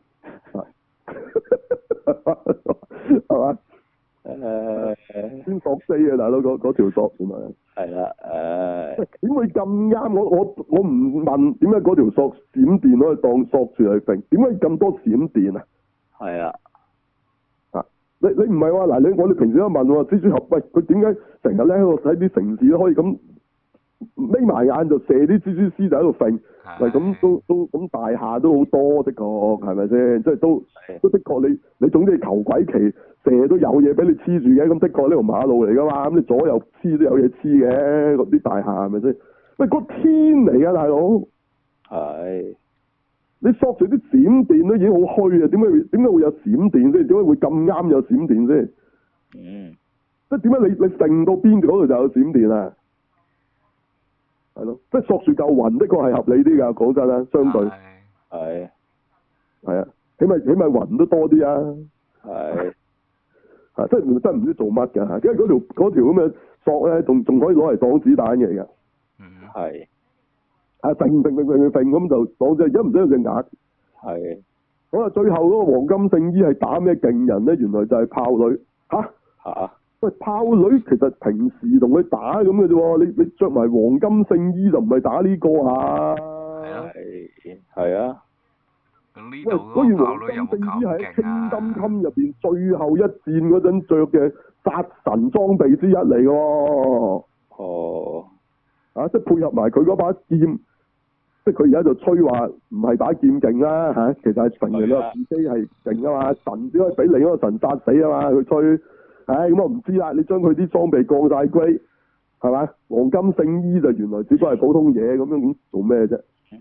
Speaker 1: 係嘛？
Speaker 3: 誒
Speaker 1: 先索死啊，大佬嗰嗰條索原來。
Speaker 3: 係啦，誒。
Speaker 1: 點會咁啱？我我我唔問點解嗰條索閃電可以當索住嚟揈？點解咁多閃電啊？
Speaker 3: 係啊。
Speaker 1: 啊！你你唔係話嗱，你我哋平時都問喎，蜘蛛俠喂佢點解成日咧喺度喺啲城市都可以咁眯埋眼就射啲蜘蛛絲就喺度揈？喂，咁都都咁大廈都好多的確係咪先？即係都都的確你你總之求鬼其射都有嘢俾你黐住嘅，咁的確呢條馬路嚟噶嘛，咁你左右黐都有嘢黐嘅，嗰啲大廈係咪先？喂，嗰天嚟㗎大佬，
Speaker 3: 係。
Speaker 1: 你索住啲閃電都已經好虛啊，點解點解會有閃電先？點解會咁啱有閃電先？
Speaker 3: 嗯。
Speaker 1: 即係點解你你揈到邊嗰度就有閃電啊？係咯，即係索住嚿雲的確係合理啲㗎，講真啦，相對
Speaker 3: 係
Speaker 1: 係啊，起碼起碼雲都多啲啊。
Speaker 3: 係
Speaker 1: 啊，即係真係唔知做乜㗎嚇，因為嗰條嗰條咁嘅索咧，仲仲可以攞嚟擋子彈嘅而家。
Speaker 2: 嗯。
Speaker 3: 係。
Speaker 1: 啊，揈揈揈揈揈咁就擋咗，而家唔使有隻眼。
Speaker 3: 係。
Speaker 1: 好啦，最後嗰個黃金聖衣係打咩勁人咧？原來就係豹女嚇
Speaker 3: 嚇。
Speaker 1: 喂，豹女其實平時同佢打咁嘅啫喎，你你著埋黃金聖衣就唔係打呢個啊？
Speaker 3: 係係啊。
Speaker 2: 咁呢
Speaker 1: 喂，
Speaker 2: 度嗰個豹女有冇咁
Speaker 1: 係喺
Speaker 2: 勁啊？
Speaker 1: 青金襟入邊最後一戰嗰陣著嘅殺神裝備之一嚟嘅喎。
Speaker 3: 哦。
Speaker 1: 啊，即係配合埋佢嗰把劍，即係佢而家就吹話唔係把劍勁啦嚇，其實係神人啦，自己係勁啊嘛，神只可以俾另一個神殺死啊嘛，佢吹。唉，咁我唔知啦，你將佢啲裝備降晒 grade，係嘛？黃金聖衣就原來只不過係普通嘢咁樣，咁做咩啫？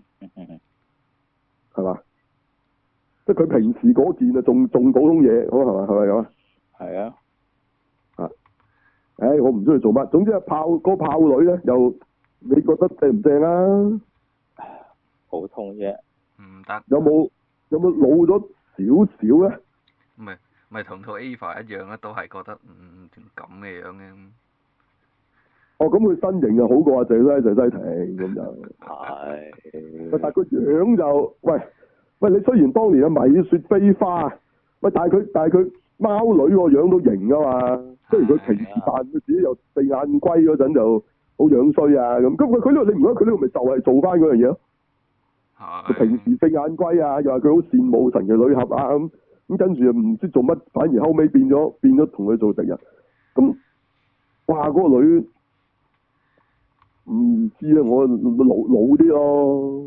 Speaker 1: 係嘛？即係佢平時嗰件啊，仲仲普通嘢，好係嘛？係咪咁啊？
Speaker 3: 係啊。
Speaker 1: 啊！唉，我唔知佢做乜，總之啊，炮嗰炮女咧，又你覺得正唔正啊？
Speaker 3: 普通啫。
Speaker 2: 唔得。
Speaker 1: 有冇有冇老咗少少咧？
Speaker 2: 唔係。咪同套 Ava 一樣啦，都係覺得嗯咁嘅樣嘅。
Speaker 1: 哦，咁佢身形就好過阿謝西謝西婷咁就。係。但係個樣就，喂喂，你雖然當年嘅米雪飛花，喂，但係佢但係佢貓女個樣都型啊嘛。雖然佢平時扮佢自己又四眼龜嗰陣就好樣衰啊咁，咁佢佢呢個你唔覺得佢呢個咪就係做翻嗰樣嘢咯？佢平時四眼龜啊，又話佢好羨慕神奇女俠啊咁。咁跟住又唔知做乜，反而後尾變咗變咗同佢做敵人。咁，哇！嗰、那個女唔知啊，我老老啲咯。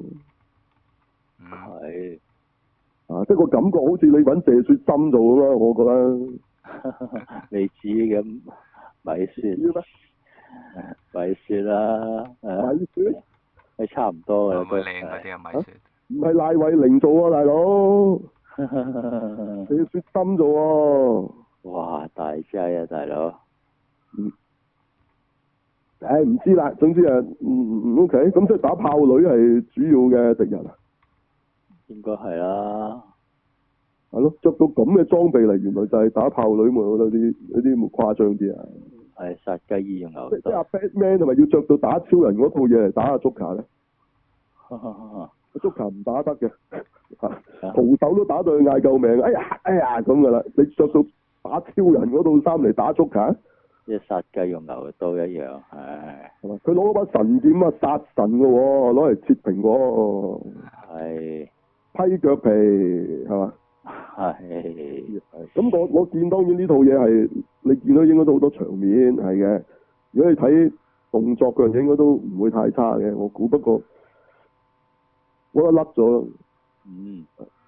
Speaker 3: 係。
Speaker 1: 啊，即係個感覺好似你揾謝雪心做咁咯，我覺得。
Speaker 3: 未知咁咪算，
Speaker 1: 知咩？
Speaker 3: 咪算啦，誒，
Speaker 1: 米雪
Speaker 3: 係差唔多
Speaker 2: 會唔會
Speaker 3: 㗎啦都。
Speaker 2: 靚嗰啲啊？米雪。
Speaker 1: 唔係賴慧玲做啊，大佬，你要雪心做喎。
Speaker 3: 哇！大劑啊，大佬。
Speaker 1: 嗯。唉，唔知啦，總之啊，嗯嗯 OK，咁即係打炮女係主要嘅敵人啊。
Speaker 3: 應該係啦。
Speaker 1: 係咯，着到咁嘅裝備嚟，原來就係打炮女，我覺得啲有啲冇誇張啲啊。
Speaker 3: 係殺雞焉用牛刀。
Speaker 1: 即即阿 Batman 係咪要着到打超人嗰套嘢嚟打阿 Joker 咧？Joker 唔打得嘅，徒手都打到佢嗌救命，哎呀哎呀咁噶啦！你着到打超人嗰套衫嚟打 Joker？
Speaker 3: 即係殺雞用牛刀一樣，唉。
Speaker 1: 係嘛？佢攞嗰把神劍啊，殺神嘅喎，攞嚟切蘋果。
Speaker 3: 係。
Speaker 1: 批腳皮係嘛？
Speaker 3: 係。
Speaker 1: 咁我我見當然呢套嘢係你見到應該都好多場面係嘅。如果你睇動作嘅嘢應該都唔會太差嘅，我估。不過我覺得甩咗咯。
Speaker 3: 嗯。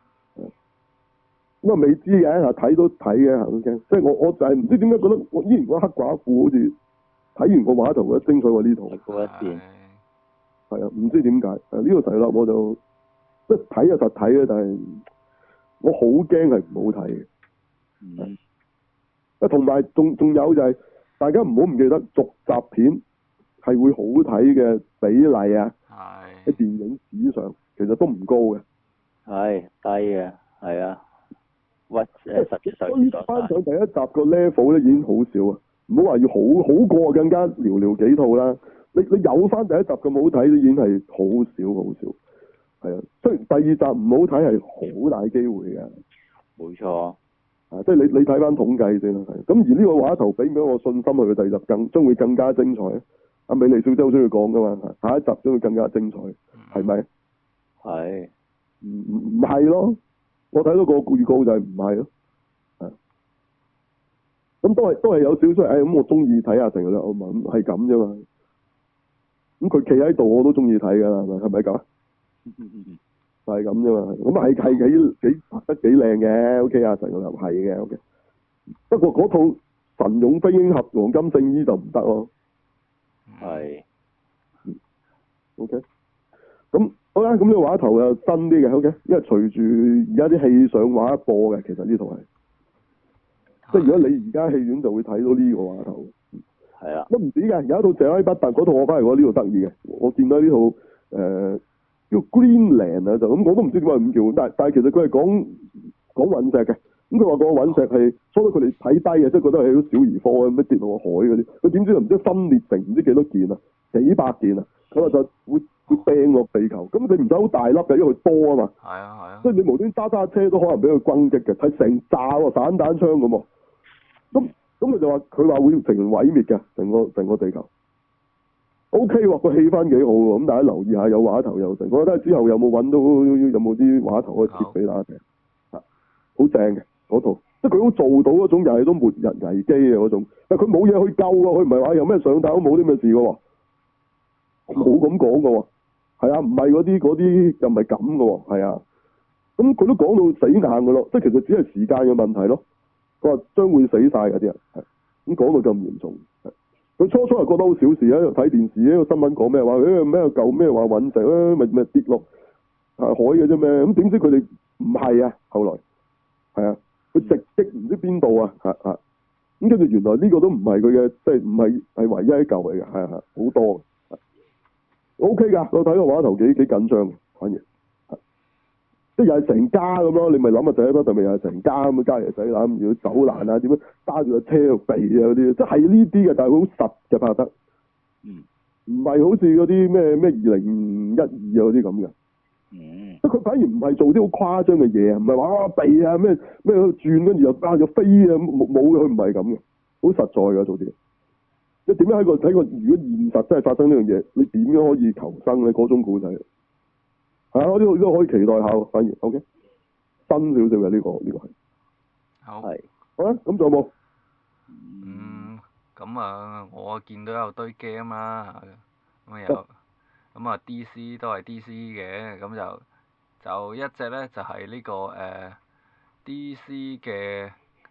Speaker 1: 咁啊未知嘅嚇，睇都睇嘅嚇，即係我我就係唔知點解覺得我依然覺得黑寡婦好似睇完個畫頭覺得精彩過呢套。
Speaker 3: 嗰一邊。
Speaker 1: 係啊，唔知點解誒呢個題啦，我就即係睇就實睇嘅，但係我好驚係唔好睇嘅。
Speaker 3: 嗯。
Speaker 1: 啊，同埋仲仲有就係、是、大家唔好唔記得續集片係會好睇嘅比例啊，喺電影史上其實都唔高嘅。
Speaker 3: 係低嘅，係啊。屈誒實質上
Speaker 1: 追翻上第一集個 level 咧已經好少啊，唔好話要好好過更加寥寥幾套啦。你你有翻第一集咁好睇都已經係好少好少。係啊，雖然第二集唔好睇係好大機會嘅。
Speaker 3: 冇錯。
Speaker 1: 啊，即係你你睇翻統計先啦，係。咁而呢個畫頭俾唔俾我信心去佢第二集更將會更加精彩。阿美麗小姐好中意講噶嘛，下一集將會更加精彩，係咪？
Speaker 3: 係。
Speaker 1: 唔唔唔係咯。我睇到個預告就係唔係咯，係，咁都係都係有少少，誒、哎、咁我中意睇下成啦，我問係咁啫嘛，咁佢企喺度我都中意睇噶啦，係咪係咪咁啊？就係咁啫嘛，咁係係幾幾拍得幾靚嘅 ，OK 啊，成個又係嘅 ，OK，不過嗰套神勇飛鷹俠黃金聖衣就唔得咯，
Speaker 3: 係
Speaker 1: ，OK，咁。好啦，咁呢個畫頭又新啲嘅 ，OK，因為隨住而家啲戲上畫播嘅，其實呢套係，即係如果你而家戲院就會睇到呢個畫頭，
Speaker 3: 係啊，
Speaker 1: 都唔止嘅，有一套謝拉不特嗰套我翻嚟，我呢度得意嘅，我見到呢套誒、呃、叫 Greenland 啊，就咁我都唔知點解咁叫，但係但係其實佢係講講隕石嘅，咁佢話個隕石係初初佢哋睇低嘅，即係覺得係啲小兒科咁，咩跌落個海嗰啲，佢點知就唔知分裂成唔知幾多件啊，幾百件啊，咁啊就會。會掟落地球，咁你唔使好大粒嘅，因為佢多啊嘛。係
Speaker 2: 啊係啊。
Speaker 1: 即係你無端揸揸車都可能俾佢轟擊嘅，係成炸喎，散彈槍咁喎。咁咁佢就話佢話會成毀滅嘅，成個成個地球。O K 喎，個氣氛幾好喎，咁大家留意下有畫頭有成，我覺得之後有冇揾到有冇啲畫頭可以貼俾大家睇。嚇，好正嘅嗰套，即係佢好做到嗰種又係都末日危機嘅嗰種，但係佢冇嘢去救喎，佢唔係話有咩上彈都冇啲咩事嘅喎，冇咁講嘅喎。係啊，唔係嗰啲嗰啲又唔係咁嘅喎，係啊，咁佢都講到死硬嘅咯，即係其實只係時間嘅問題咯。佢話將會死晒嗰啲人，係咁講到咁嚴重。佢初初係覺得好小事啊，睇電視呢個新聞講咩話，誒咩舊咩話隕石咧，咪咪跌落啊海嘅啫咩？咁點知佢哋唔係啊？後來係啊，佢直擊唔知邊度啊，嚇嚇，咁跟住原來呢個都唔係佢嘅，即係唔係係唯一一嚿嚟嘅，係係好多。O K 噶，我睇個畫頭幾幾緊張，反而，即係又係成家咁咯。你咪諗下第一筆，咪又係成家咁，家爺仔攬住走難啊，點樣揸住個車度避啊嗰啲，即係呢啲嘅，但係好實嘅拍得，
Speaker 3: 嗯，
Speaker 1: 唔係好似嗰啲咩咩二零一二啊嗰啲咁嘅，
Speaker 3: 嗯，
Speaker 1: 即係佢反而唔係做啲好誇張嘅嘢啊，唔係話啊避啊咩咩轉跟住又啊又飛啊，冇冇佢唔係咁嘅，好實在㗎做啲。即係點樣喺個睇個如果現實真係發生呢樣嘢，你點樣可以求生咧？嗰種故仔係啊，呢個都可以期待下，反而 OK 新少少嘅呢個呢、呢個係
Speaker 2: 好
Speaker 3: 係
Speaker 1: 好啦，咁仲有冇？
Speaker 2: 嗯，咁啊，我見到有堆 game 啦，咁啊有，咁啊 D C 都係 D C 嘅，咁就就一隻咧就係、是、呢、呢個誒、呃、D C 嘅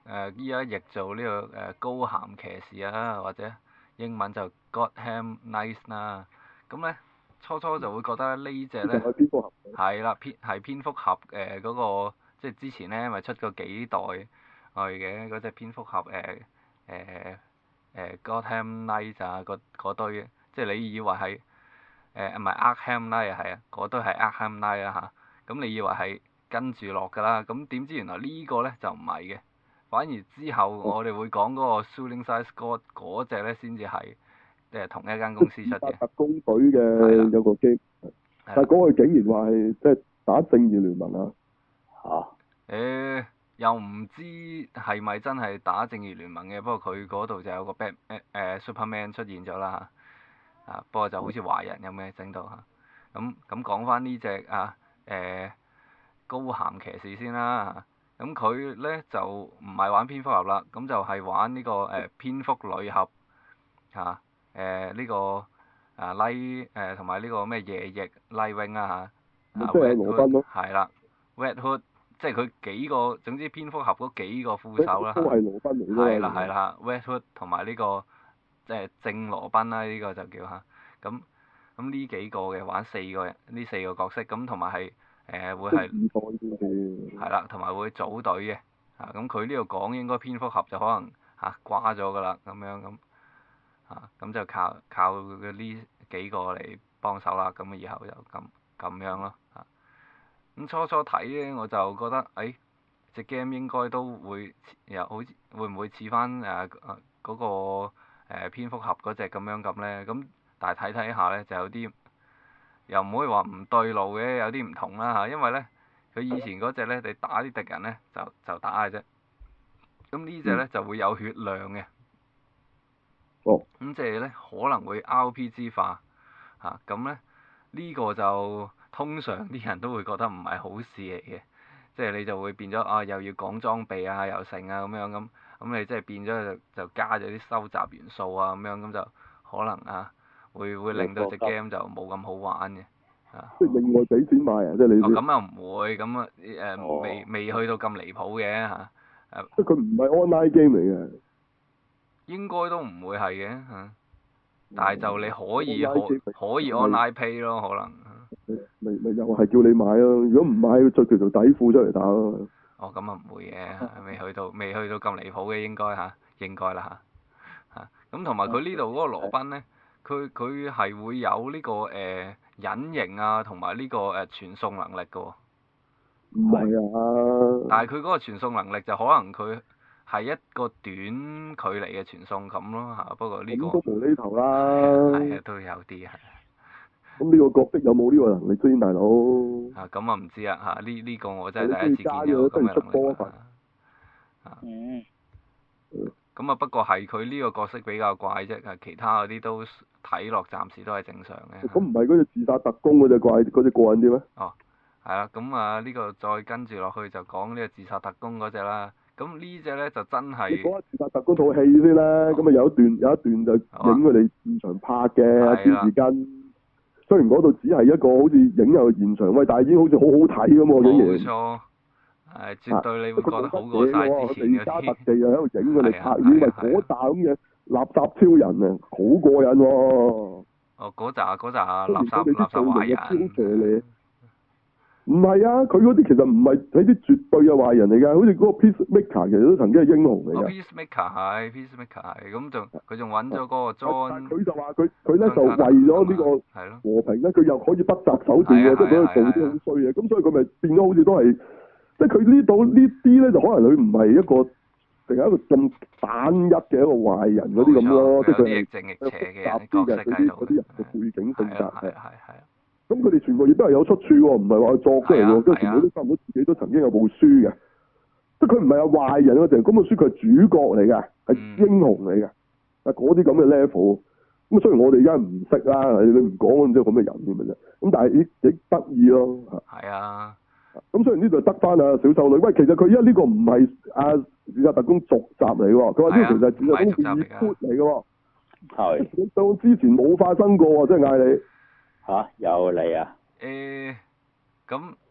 Speaker 2: 誒依家譯做呢、這個誒、呃、高鹹騎士啊，或者英文就 Gotham Knights 啦。咁咧初初就會覺得呢隻咧係啦，蝙係蝙蝠俠誒嗰個，即係之前咧咪出過幾代去嘅嗰隻蝙蝠俠誒誒誒 Gotham Knights 啊，嗰嗰堆，即係你以為係誒唔係 Arkham Knight 啊，係啊，嗰堆係 Arkham Knight 啊嚇，咁你以為係跟住落㗎啦，咁點知原來個呢個咧就唔係嘅，反而之後我哋會講嗰個 Suicide Squad 嗰隻咧先至係誒同一間公司出嘅。
Speaker 1: 特工隊嘅有個機，但係嗰個竟然話係即係打正義聯盟啊！
Speaker 3: 嚇、
Speaker 2: 啊？誒、欸，又唔知係咪真係打正義聯盟嘅？不過佢嗰度就有個 Bat 誒、呃、Superman 出現咗啦嚇，啊不過就好似壞人咁嘅整到嚇。咁咁講翻呢隻啊誒、呃、高鹹騎士先啦，咁佢咧就唔係玩蝙蝠俠啦，咁就係玩呢、這個誒、呃、蝙蝠女俠嚇誒呢個啊 Light 誒同埋呢個咩夜翼 Nightwing 啊嚇，
Speaker 1: 即係羅賓咯，
Speaker 2: 係啦 Red Hood。即係佢幾個，總之蝙蝠俠嗰幾個副手啦，
Speaker 1: 都係羅賓嚟㗎嘛。
Speaker 2: 係啦係啦 Red Hood 同埋呢個即係正羅賓啦，呢、這個就叫嚇。咁咁呢幾個嘅玩四個人，呢四個角色，咁同埋係誒會係係啦，同埋會組隊嘅。啊，咁佢呢度講應該蝙蝠俠就可能嚇瓜咗㗎啦，咁樣咁啊，咁就靠靠佢呢幾個嚟幫手啦。咁以後就咁咁樣咯。啊咁初初睇咧，我就覺得，誒、哎，隻 game 應該都會又好似會唔會似翻誒嗰個、呃、蝙蝠俠嗰隻咁樣咁咧？咁但係睇睇下咧，就有啲又唔可以話唔對路嘅，有啲唔同啦嚇。因為咧，佢以前嗰隻咧，你打啲敵人咧就就打嘅啫。咁呢隻咧就會有血量嘅。
Speaker 1: 哦。
Speaker 2: 咁即係咧可能會 R P G 化嚇，咁咧呢、這個就。通常啲人都會覺得唔係好事嚟嘅，即係你就會變咗啊，又要講裝備啊，又成啊咁樣咁，咁你即係變咗就就加咗啲收集元素啊咁樣，咁就可能啊會會令到隻 game 就冇咁好玩嘅，啊。
Speaker 1: 即係另外俾錢買啊！即係你。哦，
Speaker 2: 咁又唔會，咁啊誒未未去到咁離譜嘅嚇。誒。
Speaker 1: 即係佢唔係 online game 嚟嘅。
Speaker 2: 應該都唔會係嘅嚇，但係就你可以可可以 online pay 咯，可能。
Speaker 1: 咪咪又係叫你買咯，如果唔買，佢着條條底褲出嚟打咯。
Speaker 2: 哦，咁啊唔會嘅，未去到未去到咁離譜嘅應該嚇，應該啦嚇嚇。咁同埋佢呢度嗰個羅賓咧，佢佢係會有呢、這個誒、呃、隱形啊，同埋呢個誒傳送能力嘅喎。
Speaker 1: 唔係啊！
Speaker 2: 但係佢嗰個傳送能力就可能佢係一個短距離嘅傳送咁咯嚇，不過呢、這個。
Speaker 1: 咁都無厘頭啦。
Speaker 2: 係啊，都有啲係。
Speaker 1: 咁呢個角色有冇呢個能力先，大佬？
Speaker 2: 啊，咁啊唔知啊嚇，呢呢個我真係第一次見有咁嘅能力啊！嗯。咁啊，不過係佢呢個角色比較怪啫，其他嗰啲都睇落暫時都係正常嘅。
Speaker 1: 咁唔係嗰隻自殺特工嗰隻怪，嗰隻過癮啲咩？
Speaker 2: 哦，係啦，咁啊呢個再跟住落去就講呢個自殺特工嗰隻啦。咁呢隻咧就真係。你講下自殺特工套戲先啦，咁啊有一段有一段就影佢哋現場拍嘅，段時間。雖然嗰度只係一個好似影有現場，喂，但係已經好似好好睇咁喎，竟然。冇錯，係絕對你會覺得好過曬之前嗰啲。加特技又喺度影佢哋拍，以為嗰扎咁嘅垃圾超人啊，好過癮喎！哦，嗰扎嗰扎垃圾垃圾壞人。唔係啊，佢嗰啲其實唔係喺啲絕對嘅壞人嚟㗎，好似嗰個 Peacemaker 其實都曾經係英雄嚟㗎。Peacemaker 係 Peacemaker 係，咁仲佢仲揾咗嗰個 John。佢就話佢佢咧就為咗呢個和平咧，佢又可以不擇手段嘅，即係佢做啲好衰嘢，咁所以佢咪變咗好似都係，即係佢呢度呢啲咧就可能佢唔係一個淨係一個咁單一嘅一個壞人嗰啲咁咯，即係佢係正亦邪嘅角色喺度。嗰啲人嘅背景性格係係係。咁佢哋全部亦都係有出處喎，唔係話佢作出嚟喎，跟住全部都差唔多自己都曾經有部書嘅，即係佢唔係有壞人嗰陣，咁本書佢係主角嚟嘅，係英雄嚟嘅，啊嗰啲咁嘅 level，咁雖然我哋而家唔識啦，你唔講咁即係咁嘅人咁嘅啫，咁但係亦亦得意咯，係啊，咁雖然呢度得翻啊小秀女，喂，其實佢而家呢個唔係啊自殺特工續集嚟喎，佢話呢個其實係自殺特工二 put 嚟嘅喎，係，到之前冇發生過喎，即係嗌你。嚇、啊、有你啊！誒咁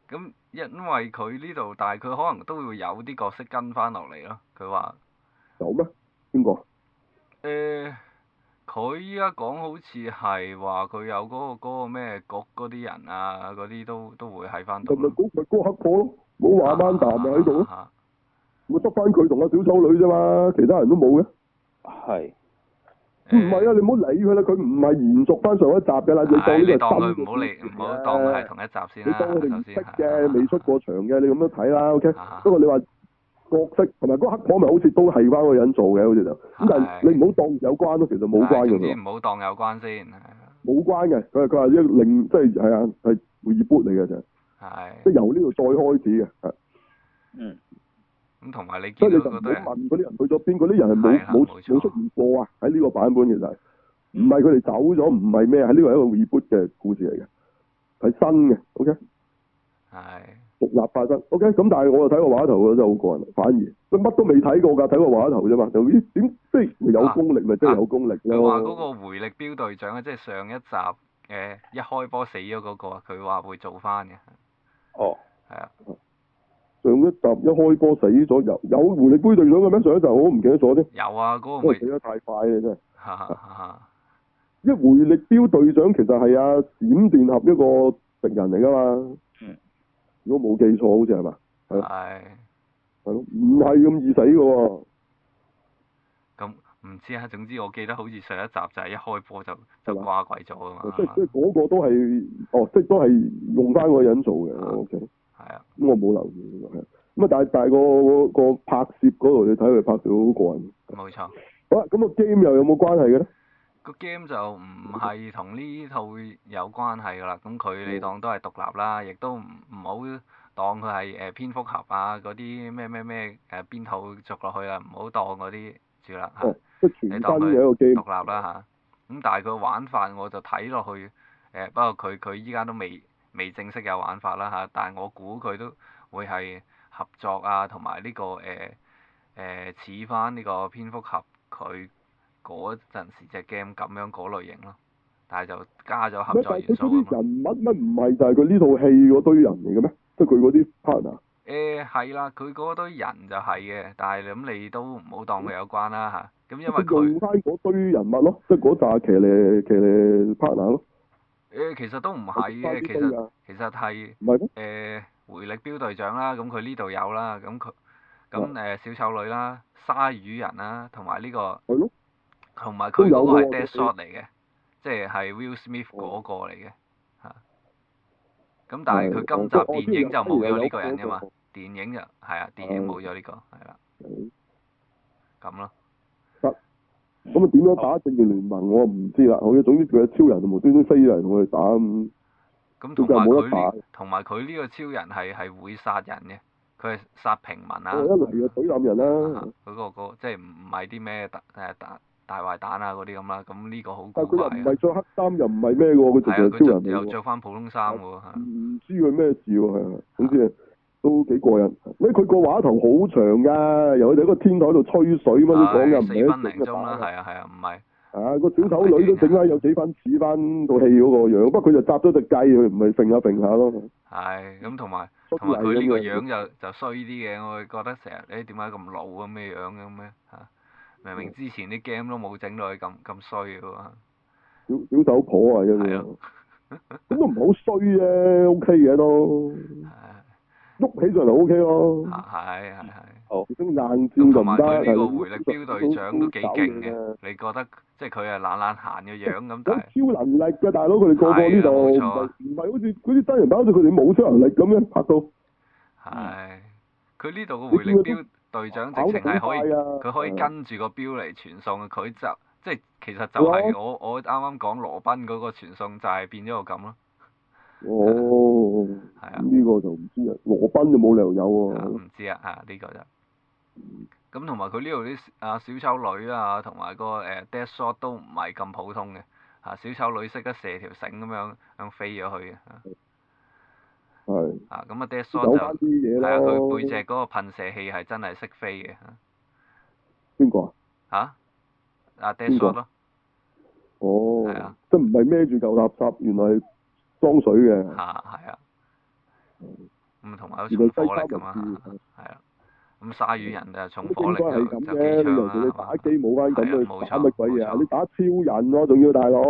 Speaker 2: 咁因為佢呢度，但係佢可能都會有啲角色跟翻落嚟咯。佢話
Speaker 1: 有咩？邊個？
Speaker 2: 誒，佢依家講好似係話佢有嗰、個嗰、個咩局嗰啲人啊，嗰啲都都會喺翻度咯。
Speaker 1: 咪咪嗰咪嗰個黑婆咯，冇話曼達咪喺度咯，
Speaker 2: 啊
Speaker 1: 咪得翻佢同阿小丑女啫嘛，其他人都冇嘅。
Speaker 3: 係。
Speaker 1: 唔係啊！你唔好理佢啦，佢唔係延續翻上一集嘅啦。你當
Speaker 2: 係你
Speaker 1: 呢個
Speaker 2: 當佢唔好
Speaker 1: 係新嘅
Speaker 2: 理唔好當佢係同一集先啦。
Speaker 1: 你當佢哋唔識
Speaker 2: 首先
Speaker 1: 嘅，未出過場嘅，你咁樣睇啦。OK。
Speaker 2: 啊
Speaker 1: 不過你話角色同埋嗰個黑婆咪好似都係翻嗰個人做嘅，好似就咁。但係你唔好當有關咯，其實冇關嘅。
Speaker 2: 總之唔好當有關先。
Speaker 1: 冇關嘅，佢係佢係一另即係係啊係 reboot 嚟嘅啫。
Speaker 2: 係。
Speaker 1: 即係由呢度再開始嘅，係。
Speaker 3: 嗯。
Speaker 2: 咁同埋你
Speaker 1: 所以你就唔好
Speaker 2: 見到嗰堆人，
Speaker 1: 問嗰啲人去咗邊，嗰啲人係冇
Speaker 2: 係啦
Speaker 1: 冇
Speaker 2: 冇錯
Speaker 1: 冇出現過啊！喺呢個版本其實唔係佢哋走咗，唔係咩，係呢個係一個 reboot 嘅故事嚟嘅，係新嘅，OK，
Speaker 2: 係
Speaker 1: 獨立發生，OK，咁但係我就睇個畫頭真係好過癮，反而佢乜都未睇過㗎，睇個畫頭啫嘛，就咦點即係有功力咪即係有功力
Speaker 2: 佢話嗰
Speaker 1: 咯。
Speaker 2: 個回力標隊長啊，即係上一集誒一開波死咗嗰個，佢話會做翻嘅。
Speaker 3: 哦。
Speaker 2: 係啊。
Speaker 1: 上一集一開波死咗，有有回力杯隊長嘅咩？上一集我都唔記得咗添。
Speaker 2: 有啊，嗰、
Speaker 1: 因為
Speaker 2: 個咪
Speaker 1: 死得太快啦真係。
Speaker 2: 哈哈哈！
Speaker 1: 因為回力標隊長其實係阿閃電俠一個敵人嚟㗎嘛。
Speaker 3: 嗯。
Speaker 1: 如果冇記錯，好似係嘛？係。
Speaker 2: 係。
Speaker 1: 係咯，唔係咁易死㗎喎。
Speaker 2: 咁唔知啊，總之我記得好似上一集就係一開波就就掛鬼咗啊嘛。
Speaker 1: 即係即係嗰個都係，哦，即係都係用翻嗰個人做嘅。O K。
Speaker 2: 係啊。
Speaker 1: 咁我冇留意呢個係。咁啊，但係但係個個拍攝嗰度，你睇佢拍到好過癮。
Speaker 2: 冇錯。
Speaker 1: 好啦，咁個 game 又有冇關係嘅咧？
Speaker 2: 個 game 就唔係同呢套有關係㗎啦，咁佢你當都係獨立啦，亦都唔唔好當佢係誒蝙蝠俠啊嗰啲咩咩咩誒邊套續落去啦，唔好當嗰啲住啦嚇。
Speaker 1: 哦，即係全新
Speaker 2: 你當佢
Speaker 1: 嘅一個 game。
Speaker 2: 獨立啦嚇。咁但係佢玩法我就睇落去誒，不過佢佢依家都未未正式有玩法啦嚇，但係我估佢都會係合作啊，同埋呢個誒誒似翻呢個蝙蝠俠佢嗰陣時隻 game 咁樣嗰類型咯，但係就加咗合作元素啊嘛。
Speaker 1: 佢嗰啲人物乜唔係就係佢呢套戲嗰堆人嚟嘅咩？即係佢嗰啲 partner。
Speaker 2: 誒係啦，佢嗰堆人就係嘅，但係咁你都唔好當佢有關啦嚇。咁因為佢
Speaker 1: 用翻嗰堆人物咯，即係嗰紮騎呢騎呢 partner 咯。
Speaker 2: 誒其實都唔係嘅，其實其實係
Speaker 1: 唔係
Speaker 2: 誒回力標隊長啦，咁佢呢度有啦，咁佢咁誒小丑女啦、鯊魚人啦，同埋呢個。
Speaker 1: 係咯。
Speaker 2: 同埋佢嗰個係 Deadshot 嚟嘅，即係係 Will Smith 嗰個嚟嘅嚇。咁但係佢今集電影就冇咗呢個人㗎嘛，電影就係啊，電影冇咗呢個係啦。咁咯。
Speaker 1: 得。咁啊點樣打正義聯盟我唔知啦，好嘅，總之佢係超人無端端飛嚟同我哋打咁。
Speaker 2: 咁同埋佢呢？同埋佢呢個超人係係會殺人嘅，佢係殺平民啊。
Speaker 1: 一嚟就懟冧人啦。
Speaker 2: 嗰個個即係唔唔係啲咩特誒特。大壞蛋啊嗰啲咁啦，咁呢個好古
Speaker 1: 但係佢
Speaker 2: 怪
Speaker 1: 又唔係着黑衫，又唔係咩喎，佢直係超人嚟喎。
Speaker 2: 又着翻普通衫喎。
Speaker 1: 唔知佢咩事喎，係啊，總之都幾過癮。咩佢個畫頭好長㗎，由佢哋喺個天台度吹水乜都講㗎，唔係
Speaker 2: 四分零鐘啦，係啊係啊，唔係。
Speaker 1: 啊個小丑女都整翻有幾分似翻套戲嗰個樣，不過佢就紮咗隻雞，佢唔係揈下揈下咯。
Speaker 2: 係，咁同埋同埋佢呢個樣就就衰啲嘅，我會覺得成日誒點解咁老咁嘅樣嘅咩嚇？明明之前啲 game 都冇整到佢咁咁衰嘅喎。
Speaker 1: 小小丑婆啊，真係。咁都唔好衰啫 ，O K 嘅都。喐起上嚟 O K 咯。
Speaker 2: 係係係。
Speaker 3: 好。
Speaker 1: 咁硬戰就唔得。
Speaker 2: 佢呢個回力標隊長都幾勁嘅，你覺得即係佢係懶懶閒嘅樣咁，但係。
Speaker 1: 超能力嘅大佬，佢哋個個呢度唔係唔係好似嗰啲真人版，好似佢哋冇超能力咁樣拍到。
Speaker 2: 係。佢呢度嘅回力標隊長直情係可以，佢可以跟住個標嚟傳送，佢就即係其實就係我我啱啱講羅賓嗰個傳送就係變咗個咁咯。
Speaker 1: 哦。係啊。呢個就唔知啊，羅賓就冇理由有喎。
Speaker 2: 唔知啊，啊呢個就。咁同埋佢呢度啲啊小丑女啊，同埋個誒 Deadshot 都唔係咁普通嘅，嚇小丑女識得射條繩咁樣咁飛咗去嘅。
Speaker 1: 係。
Speaker 2: 啊，咁啊 Deadshot 就係啊，佢背脊嗰個噴射器係真係識飛嘅。
Speaker 1: 邊個啊？
Speaker 2: 嚇？啊 Deadshot 咯。
Speaker 1: 哦。
Speaker 2: 係啊。
Speaker 1: 即係唔係孭住嚿垃圾，原來係裝水嘅。
Speaker 2: 嚇係啊。 咁同埋有重火力㗎嘛，係啊。咁鯊魚人就重火力就就機槍啦，
Speaker 1: 你打機冇翻咁
Speaker 2: 係
Speaker 1: 去打乜鬼嘢啊？你打超人喎，仲要大佬，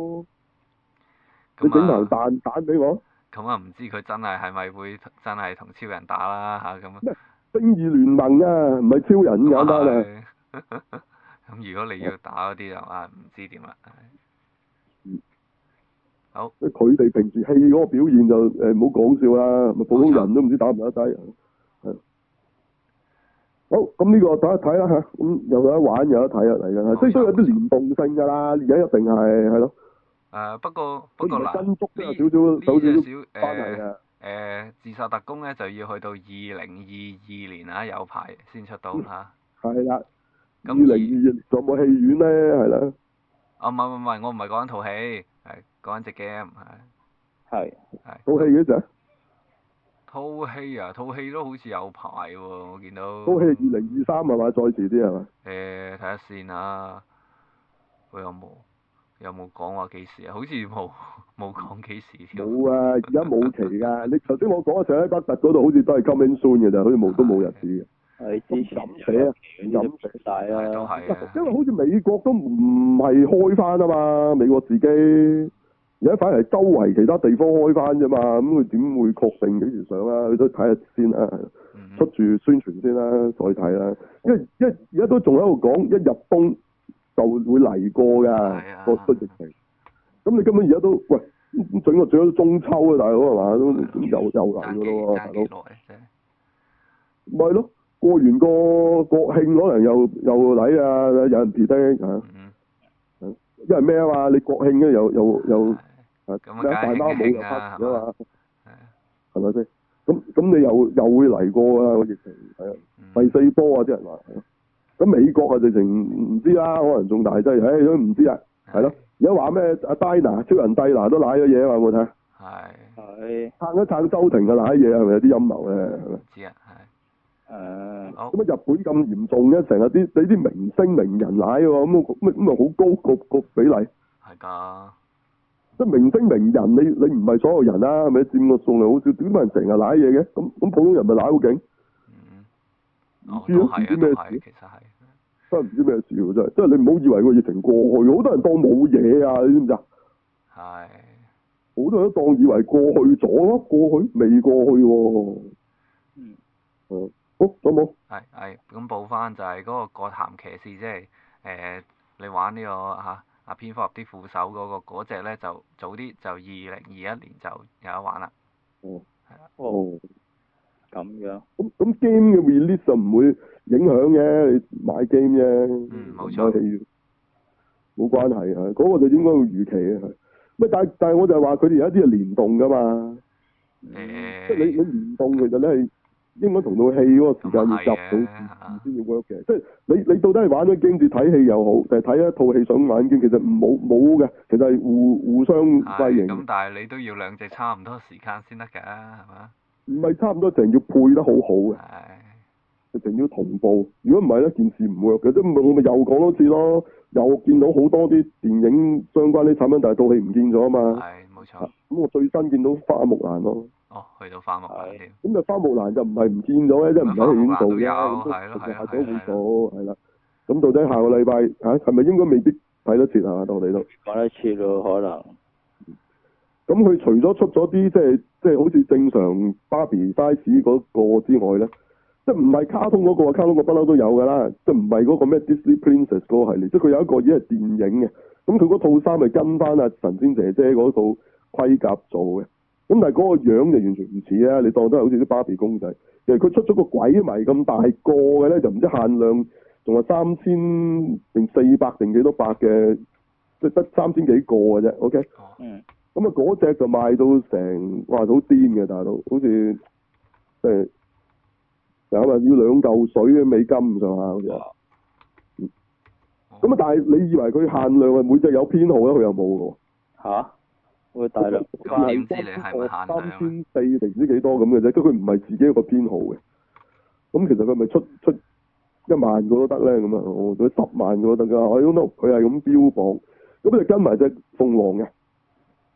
Speaker 1: 你整頭彈彈俾我。
Speaker 2: 咁啊，唔知佢真係係咪會真係同超人打啦嚇咁。
Speaker 1: 咩？正義聯盟啊，唔係超人咁簡單啊！
Speaker 2: 咁如果你要打嗰啲就啊，唔知點啦。
Speaker 1: 嗯。
Speaker 2: 好。
Speaker 1: 佢哋平時戲嗰個表現就誒唔好講笑啦，咪普通人都唔知打唔打得低。係。好，咁呢個睇一睇啦嚇，咁又有得玩有得睇啊嚟緊，即係都有啲聯動性㗎啦，而家一定係係咯。
Speaker 2: 誒不過不過嗱，
Speaker 1: 跟足都有少
Speaker 2: 呢
Speaker 1: 少有少少
Speaker 2: 誒
Speaker 1: 關係嘅。
Speaker 2: 誒自殺特工咧就要去到二零二二年啊，有排先出到嚇。
Speaker 1: 係啦。二零二二仲有冇戲院咧？係啦。
Speaker 2: 啊唔係唔係，我唔係講緊套戲，係講緊隻 game 係。
Speaker 3: 係。
Speaker 2: 係。
Speaker 1: 套戲嘅啫。
Speaker 2: 套戲啊，套戲都好似有排喎，我見到。
Speaker 1: 套戲二零二三係嘛？再遲啲係嘛？
Speaker 2: 誒睇下先啊，佢有冇有冇講話幾時啊？好似冇冇講幾時添。
Speaker 1: 冇啊！而家冇期㗎。你頭先我講嘅上喺北特嗰度，好似都係 coming soon 嘅咋，好似冇都冇日子嘅。
Speaker 3: 係之前
Speaker 1: 咁寫啊，咁寫
Speaker 3: 晒啦。
Speaker 2: 都係
Speaker 1: 因為好似美國都唔係開翻啊嘛，美國自己。而家反而係周圍其他地方開翻啫嘛，咁佢點會確定幾時上啊？佢都睇下先啦，
Speaker 2: 嗯、
Speaker 1: 出住宣傳先啦，再睇啦。因為因為而家都仲喺度講，一入冬就會嚟過㗎，個個疫情。咁你根本而家都喂，整個整咗中秋啊，大佬係嘛？都又又嚟㗎咯喎，大佬。咪係咯，過完個國慶可能又又嚟啊，有人撇低嚇。嗯、因為咩啊嘛？你國慶咧又又又。
Speaker 2: 咁啊，大
Speaker 1: 貓冇又
Speaker 2: 啦，
Speaker 1: 黑啊嘛，係咪先？咁咁你又又會嚟過啊個疫情，係啊，第四波啊啲人話，咁美國啊直情唔知啦，可能仲大劑，唉都唔知啊，係咯。而家話咩阿 Diana 超人蒂娜都瀨咗嘢啊嘛，有冇睇？
Speaker 2: 係
Speaker 1: 係撐一撐周庭嘅瀨嘢係咪有啲陰謀咧？
Speaker 2: 唔知啊，係
Speaker 1: 誒。咁啊日本咁嚴重嘅，成日啲你啲明星名人瀨喎，咁咁咁啊好高個個比例。
Speaker 2: 係㗎。
Speaker 1: 即係明星名人，你你唔係所有人啦，係咪佔個數量好少？點解人成日舐嘢嘅？咁咁普通人咪舐好勁？
Speaker 2: 嗯。
Speaker 1: 唔知咯，唔知咩事。
Speaker 2: 其實係。
Speaker 1: 真係唔知咩事喎！真係，即係你唔好以為個疫情過去，好多人當冇嘢啊！你知唔知啊？
Speaker 2: 係。
Speaker 1: 好多人都當以為過去咗咯，過去未過去喎。嗯。誒，好，仲有冇？
Speaker 2: 係係，咁報翻就係嗰個過潭騎士，即係誒你玩呢個嚇。啊！蝙蝠俠啲副手嗰、那個嗰隻咧就早啲，就二零二一年就有得玩啦。哦。係啦。
Speaker 1: 哦。
Speaker 3: 咁樣。
Speaker 1: 咁咁 game 嘅 release 就唔會影響嘅，你買 game 啫。
Speaker 2: 嗯，冇錯。
Speaker 1: 冇關係啊，嗰、那個就應該會預期嘅。乜但但係我就係話佢哋有一啲係聯動㗎嘛。誒、嗯。即係你你聯動其實咧係。應該同套戲嗰個時間要夾到先至 work 嘅，即係你你到底係玩咗 game 至睇戲又好，定係睇一套戲想玩 game，其實冇冇嘅，其實係互互相輝映。
Speaker 2: 咁但係你都要兩隻差唔多時間先得㗎，係嘛？
Speaker 1: 唔係差唔多，成要配得好好嘅。係。成要同步，如果唔係咧，件事唔 work 嘅，即係我咪又講多次咯，又見到好多啲電影相關啲產品，但係套戲唔見咗啊嘛。
Speaker 2: 係，冇錯。咁
Speaker 1: 我最新見到花木蘭咯。
Speaker 2: 哦，去到花木蘭添。
Speaker 1: 咁就花木蘭就唔係唔見咗咧，即係唔喺戲院做嘅，
Speaker 2: 咁都
Speaker 1: 下咗會做，係啦。咁到底下個禮拜嚇係咪應該未必睇得切啊？到你都
Speaker 3: 講得切咯，可能。
Speaker 1: 咁佢除咗出咗啲即係即係好似正常芭比 size 嗰個之外咧，即係唔係卡通嗰個，卡通個不嬲都有㗎啦，即係唔係嗰個咩 Disney Princess 嗰個系列，即係佢有一個已經係電影嘅。咁佢嗰套衫係跟翻阿神仙姐姐嗰套盔甲做嘅。咁但係嗰個樣就完全唔似啊！你當都係好似啲芭比公仔。其實佢出咗個鬼迷咁大個嘅咧，就唔知限量，仲係三千定四百定幾多百嘅，即係得三千幾個嘅啫。OK。嗯。咁啊，嗰隻就賣到成，哇！好癲嘅大佬，好似即係有啊，要兩嚿水嘅美金咁上下好似。嗯。咁啊，但係你以為佢限量係每隻有編號咧？佢又冇嘅喎。嚇？會大量，
Speaker 2: 咁點知你係咪限量？
Speaker 1: 三千四定唔知幾多咁嘅啫，咁佢唔係自己一個編號嘅。咁其實佢咪出出一萬個都得咧？咁啊，我覺得十萬個都得㗎。I don't know，佢係咁標榜，咁就跟埋隻鳳凰嘅，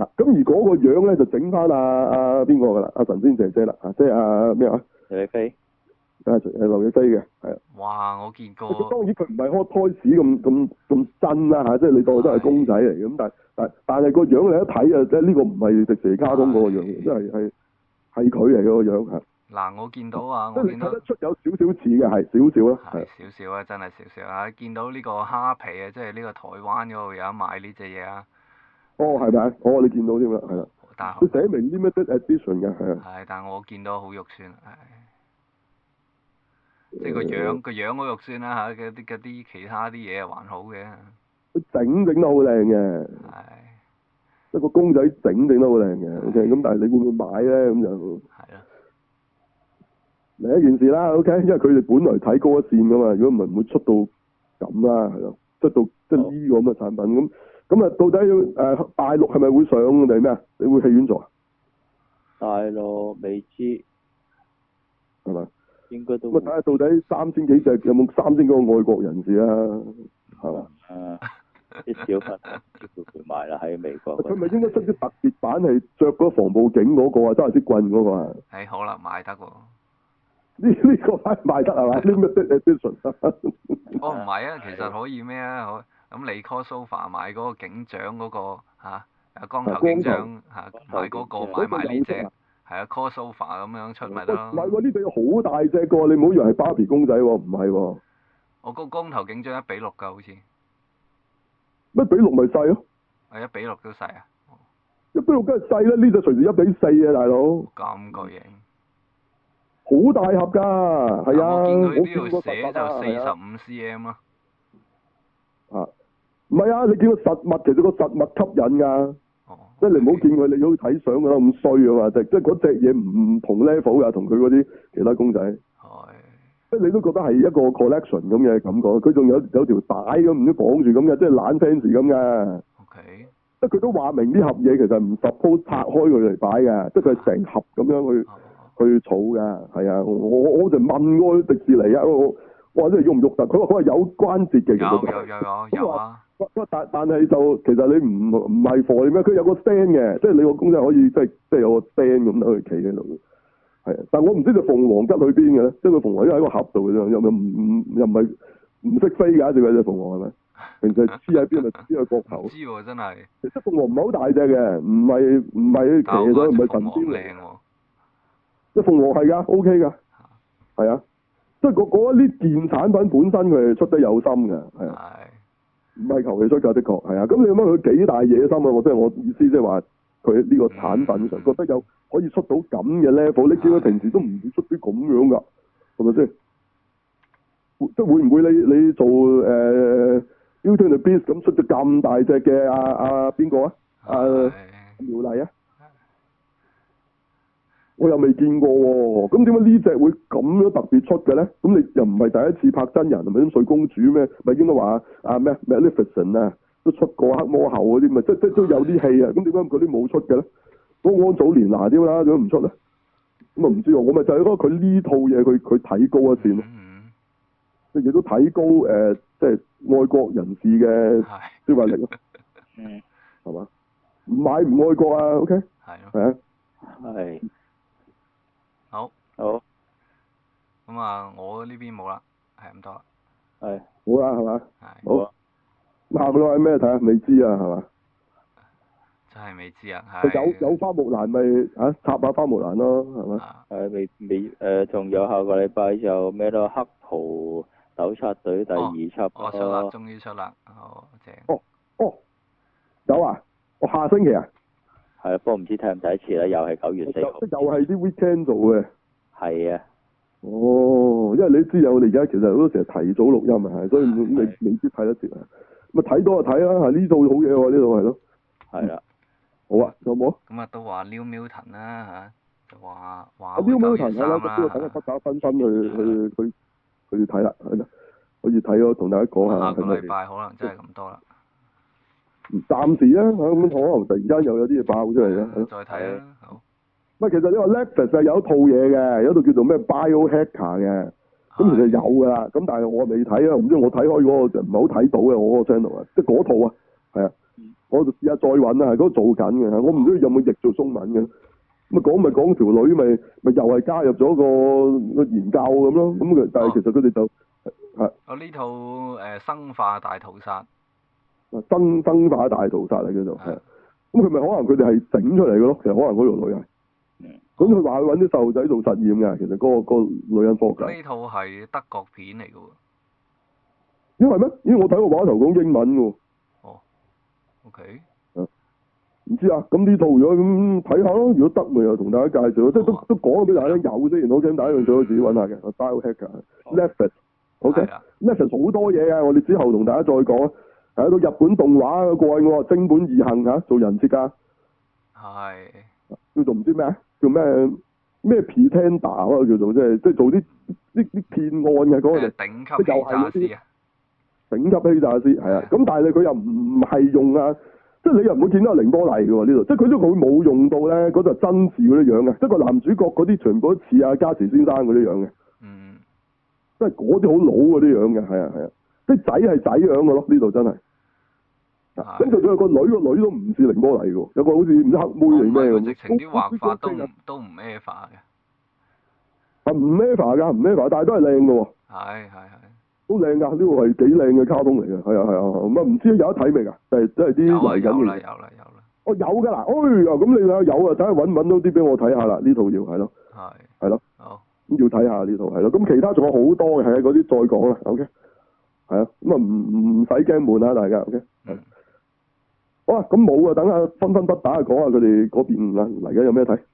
Speaker 1: 嗱，咁而嗰個樣咧就整翻阿阿邊個㗎啦？阿神仙姐姐啦，啊，即係阿咩話？
Speaker 3: 劉亦菲。
Speaker 1: 啊，係劉亦菲嘅，係啊。
Speaker 2: 哇！我見過。
Speaker 1: 當然佢唔係 hot toys 咁咁咁真啦嚇，即係你當佢都係公仔嚟嘅，咁但係但但係個樣你一睇啊，即係呢個唔係迪士尼卡通嗰個樣，即係係係佢嚟嘅個樣嚇。
Speaker 2: 嗱，我見到啊，
Speaker 1: 即係你
Speaker 2: 我見到
Speaker 1: 睇得出有少少似嘅，係少少啦，
Speaker 2: 係少少啊，真係少少啊！見到呢個蝦皮啊，即係呢個台灣嗰度有得賣呢隻嘢啊。
Speaker 1: 哦，係咪？哦，你見到添啦，係啦。
Speaker 2: 但
Speaker 1: 佢寫明 limited edition 嘅，係啊。
Speaker 2: 係，但我見到好肉酸，係。即係個樣個樣好肉酸啦嚇，嗰啲嗰啲其他啲嘢還好嘅。
Speaker 1: 佢整整得好靚嘅。
Speaker 2: 係。
Speaker 1: 一個公仔整整得好靚嘅，OK，咁但係你會唔會買咧？咁就係
Speaker 2: 咯。
Speaker 1: 另一件事啦，OK，因為佢哋本來睇高一線噶嘛，如果唔係唔會出到咁啦，係咯，出到即係呢個咁嘅產品咁，咁啊到底誒、呃、大陸係咪會上定係咩啊？你會戲院做啊？
Speaker 3: 大陸未知，
Speaker 1: 係嘛？
Speaker 3: 應該都。
Speaker 1: 咁啊睇下到底三千幾隻有冇三千個外國人士啊？係嘛？
Speaker 3: 啊！啲小朋友叫佢買啦喺美國。
Speaker 1: 佢咪應該出啲特別版係着嗰防暴警嗰、嗰個啊，揸住支棍嗰個啊？
Speaker 2: 係可能買得喎。
Speaker 1: 呢呢個牌賣得係嘛？呢咩 edition？
Speaker 2: 哦，唔係啊，其實可以咩啊？可咁你 call sofa 買嗰個警長嗰、嗰個嚇，啊光頭警長嚇買嗰個買埋呢隻，係啊 call sofa 咁樣出咪得咯？
Speaker 1: 唔係喎，呢隻好大隻個，你唔好以為係芭比公仔喎，唔係喎。
Speaker 2: 我個光頭警長一比六㗎，好似。
Speaker 1: 乜比六咪細咯？
Speaker 2: 係一比六都細啊！
Speaker 1: 一比六梗係細啦，呢隻隨時一比四啊，大佬。
Speaker 2: 咁巨型。
Speaker 1: 好大盒㗎，係啊！
Speaker 2: 我見佢呢
Speaker 1: 見
Speaker 2: 度寫就四十五 cm 咯。
Speaker 1: 啊，唔係啊！你見個實物，其實個實物吸引㗎。
Speaker 2: 哦。
Speaker 1: 即係你唔好見佢，你好睇相㗎啦，咁衰啊嘛！即即係嗰隻嘢唔同 level 㗎，同佢嗰啲其他公仔。
Speaker 2: 係。
Speaker 1: 即係你都覺得係一個 collection 咁嘅感覺，佢仲有有條帶咁唔知綁住咁嘅，即係懶 fans 咁嘅。
Speaker 2: O K。
Speaker 1: 即係佢都話明啲盒嘢其實唔 suppose 拆開佢嚟擺嘅，即係佢係成盒咁樣去。去儲㗎，係啊！我我我就問過迪士尼啊，我我話真係喐唔喐得？佢話佢話有關節嘅，其實
Speaker 2: 有有有有有啊！
Speaker 1: 但但係就其實你唔唔係貨咩？佢有個 stand 嘅，即係你個公仔可以即係即係有個 stand 咁樣去企喺度。係啊，但我唔知隻鳳凰吉去邊嘅咧，即係佢鳳凰因為喺個盒度嘅啫，又又唔唔又唔係唔識飛㗎，隻隻鳳凰係咪？平時黐喺邊咪黐喺膊頭？
Speaker 2: 唔知喎，真係。
Speaker 1: 其實鳳凰唔係好大隻嘅，唔係唔係騎咗，唔係神仙嚟。即係鳳凰係㗎 ，O K 㗎，係啊，即係嗰嗰啲件產品本身佢係出得有心嘅，係啊，唔係求其出㗎，的確係啊。咁你諗下佢幾大野心啊？我即係我意思，即係話佢呢個產品上覺得有可以出到咁嘅 level，你見佢平時都唔會出啲咁樣㗎，係咪先？即係會唔會你你做誒 Beauty and the Beast 咁出咗咁大隻嘅阿阿邊個啊？阿苗麗啊？我又未見過喎，咁點解呢隻會咁樣特別出嘅咧？咁你又唔係第一次拍真人，係咪啲睡公主咩？咪應該話啊咩 Maleficent 啊，都出過黑魔后嗰啲，咪即即都有啲戲啊。咁點解嗰啲冇出嘅咧？嗰安祖蓮娜啲啦，點解唔出咧？咁啊唔知喎，我咪就係覺得佢呢套嘢佢佢睇高一線咯，即係亦都睇高誒、呃，即係愛國人士嘅消費力咯。嗯，係嘛？唔買唔愛國啊 ？OK，係啊，
Speaker 3: 係。
Speaker 2: 好，
Speaker 3: 好，
Speaker 2: 咁啊，我呢邊冇啦，係咁多啦。
Speaker 3: 係，
Speaker 1: 好啦，係嘛？
Speaker 2: 係。
Speaker 1: 好啊。下個禮拜咩睇啊？未知啊，係嘛？
Speaker 2: 真係未知啊，係。
Speaker 1: 有有花木蘭咪啊插下花木蘭咯，係嘛？
Speaker 3: 係未未誒，仲有下個禮拜就咩咯？黑袍糾察隊第二輯咯。
Speaker 2: 哦，出啦，終於出啦，好正。
Speaker 1: 哦哦，有啊！我下星期啊。
Speaker 3: 係啊，不過唔知睇唔睇得切啦，又係九月四號。
Speaker 1: 即又係啲 weekend 做嘅。
Speaker 3: 係啊。
Speaker 1: 哦，因為你知有我哋而家其實好多時係提早錄音啊，所以你未必睇得切啊。咪睇到就睇啦，呢套好嘢喎，呢套係咯。係啦。好啊，有冇？
Speaker 2: 咁啊，都話 New Milton 啦嚇，就話話
Speaker 1: New Milton
Speaker 2: 係啦，
Speaker 1: 咁呢個等佢不打分分去去去去睇啦，係啦，可以睇咯，同大家講下。
Speaker 2: 下個禮拜可能真係咁多啦。
Speaker 1: 暫時啊，咁可能突然間又有啲嘢爆出嚟啦。
Speaker 2: 再睇啦，好。
Speaker 1: 唔係，其實你話 Netflix 係有一套嘢嘅，有一套叫做咩 Biohacker 嘅，咁其實有㗎啦。咁但係我未睇啊，唔知我睇開嗰個就唔係好睇到嘅，我嗰個 channel 啊，即係嗰套啊，係啊。 我就試下再揾啊，嗰、個做緊嘅，我唔知有冇譯做中文嘅。咁啊講咪講條女咪咪又係加入咗個個研究咁咯，咁佢但係其實佢哋就係
Speaker 2: 我呢套誒生化大屠殺。
Speaker 1: 生生化大屠殺嚟叫做係。咁佢咪可能佢哋係整出嚟嘅咯？其實可能嗰條女係。咁佢話揾啲細路仔做實驗嘅，其實嗰、嗰個、嗰個女人科學家。
Speaker 2: 呢套係德國片嚟嘅喎。
Speaker 1: 因為咩？因為我睇個畫頭講英文喎。
Speaker 2: 哦。O K。
Speaker 1: 唔知啊，咁呢套如果咁睇下咯，如果得咪又同大家介紹，哦、即係都都講咗俾大家聽有啫，然後咁大家用咗自己揾下嘅。Biohacker，Netflix，OK，Netflix 好多嘢嘅，我哋之後同大家再講啊。係一套日本動畫過癮喎，貞本義行嚇，做人設㗎。
Speaker 2: 係。
Speaker 1: 叫做唔知咩啊？叫咩咩 Pretender 啊？叫做即係即係做啲啲啲騙案嘅嗰個。
Speaker 2: 誒頂級欺詐師啊！
Speaker 1: 頂級欺詐師係啊，咁但係佢又唔係用啊。即係你又唔會見到阿凌波麗嘅喎呢度，即係佢都佢冇用到咧嗰度真事嗰啲樣嘅，即係個男主角嗰啲全部都似阿加持先生嗰啲樣嘅，
Speaker 2: 嗯，
Speaker 1: 即係嗰啲好老嗰啲樣嘅，係啊係啊，即係仔係仔樣嘅咯，呢度真係。咁就算係個女個女都唔似凌波麗嘅喎，有個好似唔知黑妹定咩咁。
Speaker 2: 直情啲畫法都唔都唔 Eva 嘅。
Speaker 1: 啊唔 Eva 㗎，唔 Eva，但係都係靚嘅喎。
Speaker 2: 係係係。
Speaker 1: 都靚㗎，呢個係幾靚嘅卡通嚟嘅，係啊係啊，咁啊唔知有得睇未㗎？就係即係啲嚟緊嘅。
Speaker 2: 有啦有啦有啦。
Speaker 1: 哦有㗎啦，哎呀咁你睇下有啊，睇下揾唔揾到啲俾我睇下啦，呢套要係咯。係。係咯。
Speaker 2: 好。
Speaker 1: 咁要睇下呢套係咯，咁其他仲有好多嘅，係啊嗰啲再講啦 ，OK。係啊，咁啊唔唔使驚悶啊大家 ，OK。
Speaker 2: 嗯。
Speaker 1: 好啊，咁冇啊，等下分分不打講下佢哋嗰邊啦，嚟緊有咩睇？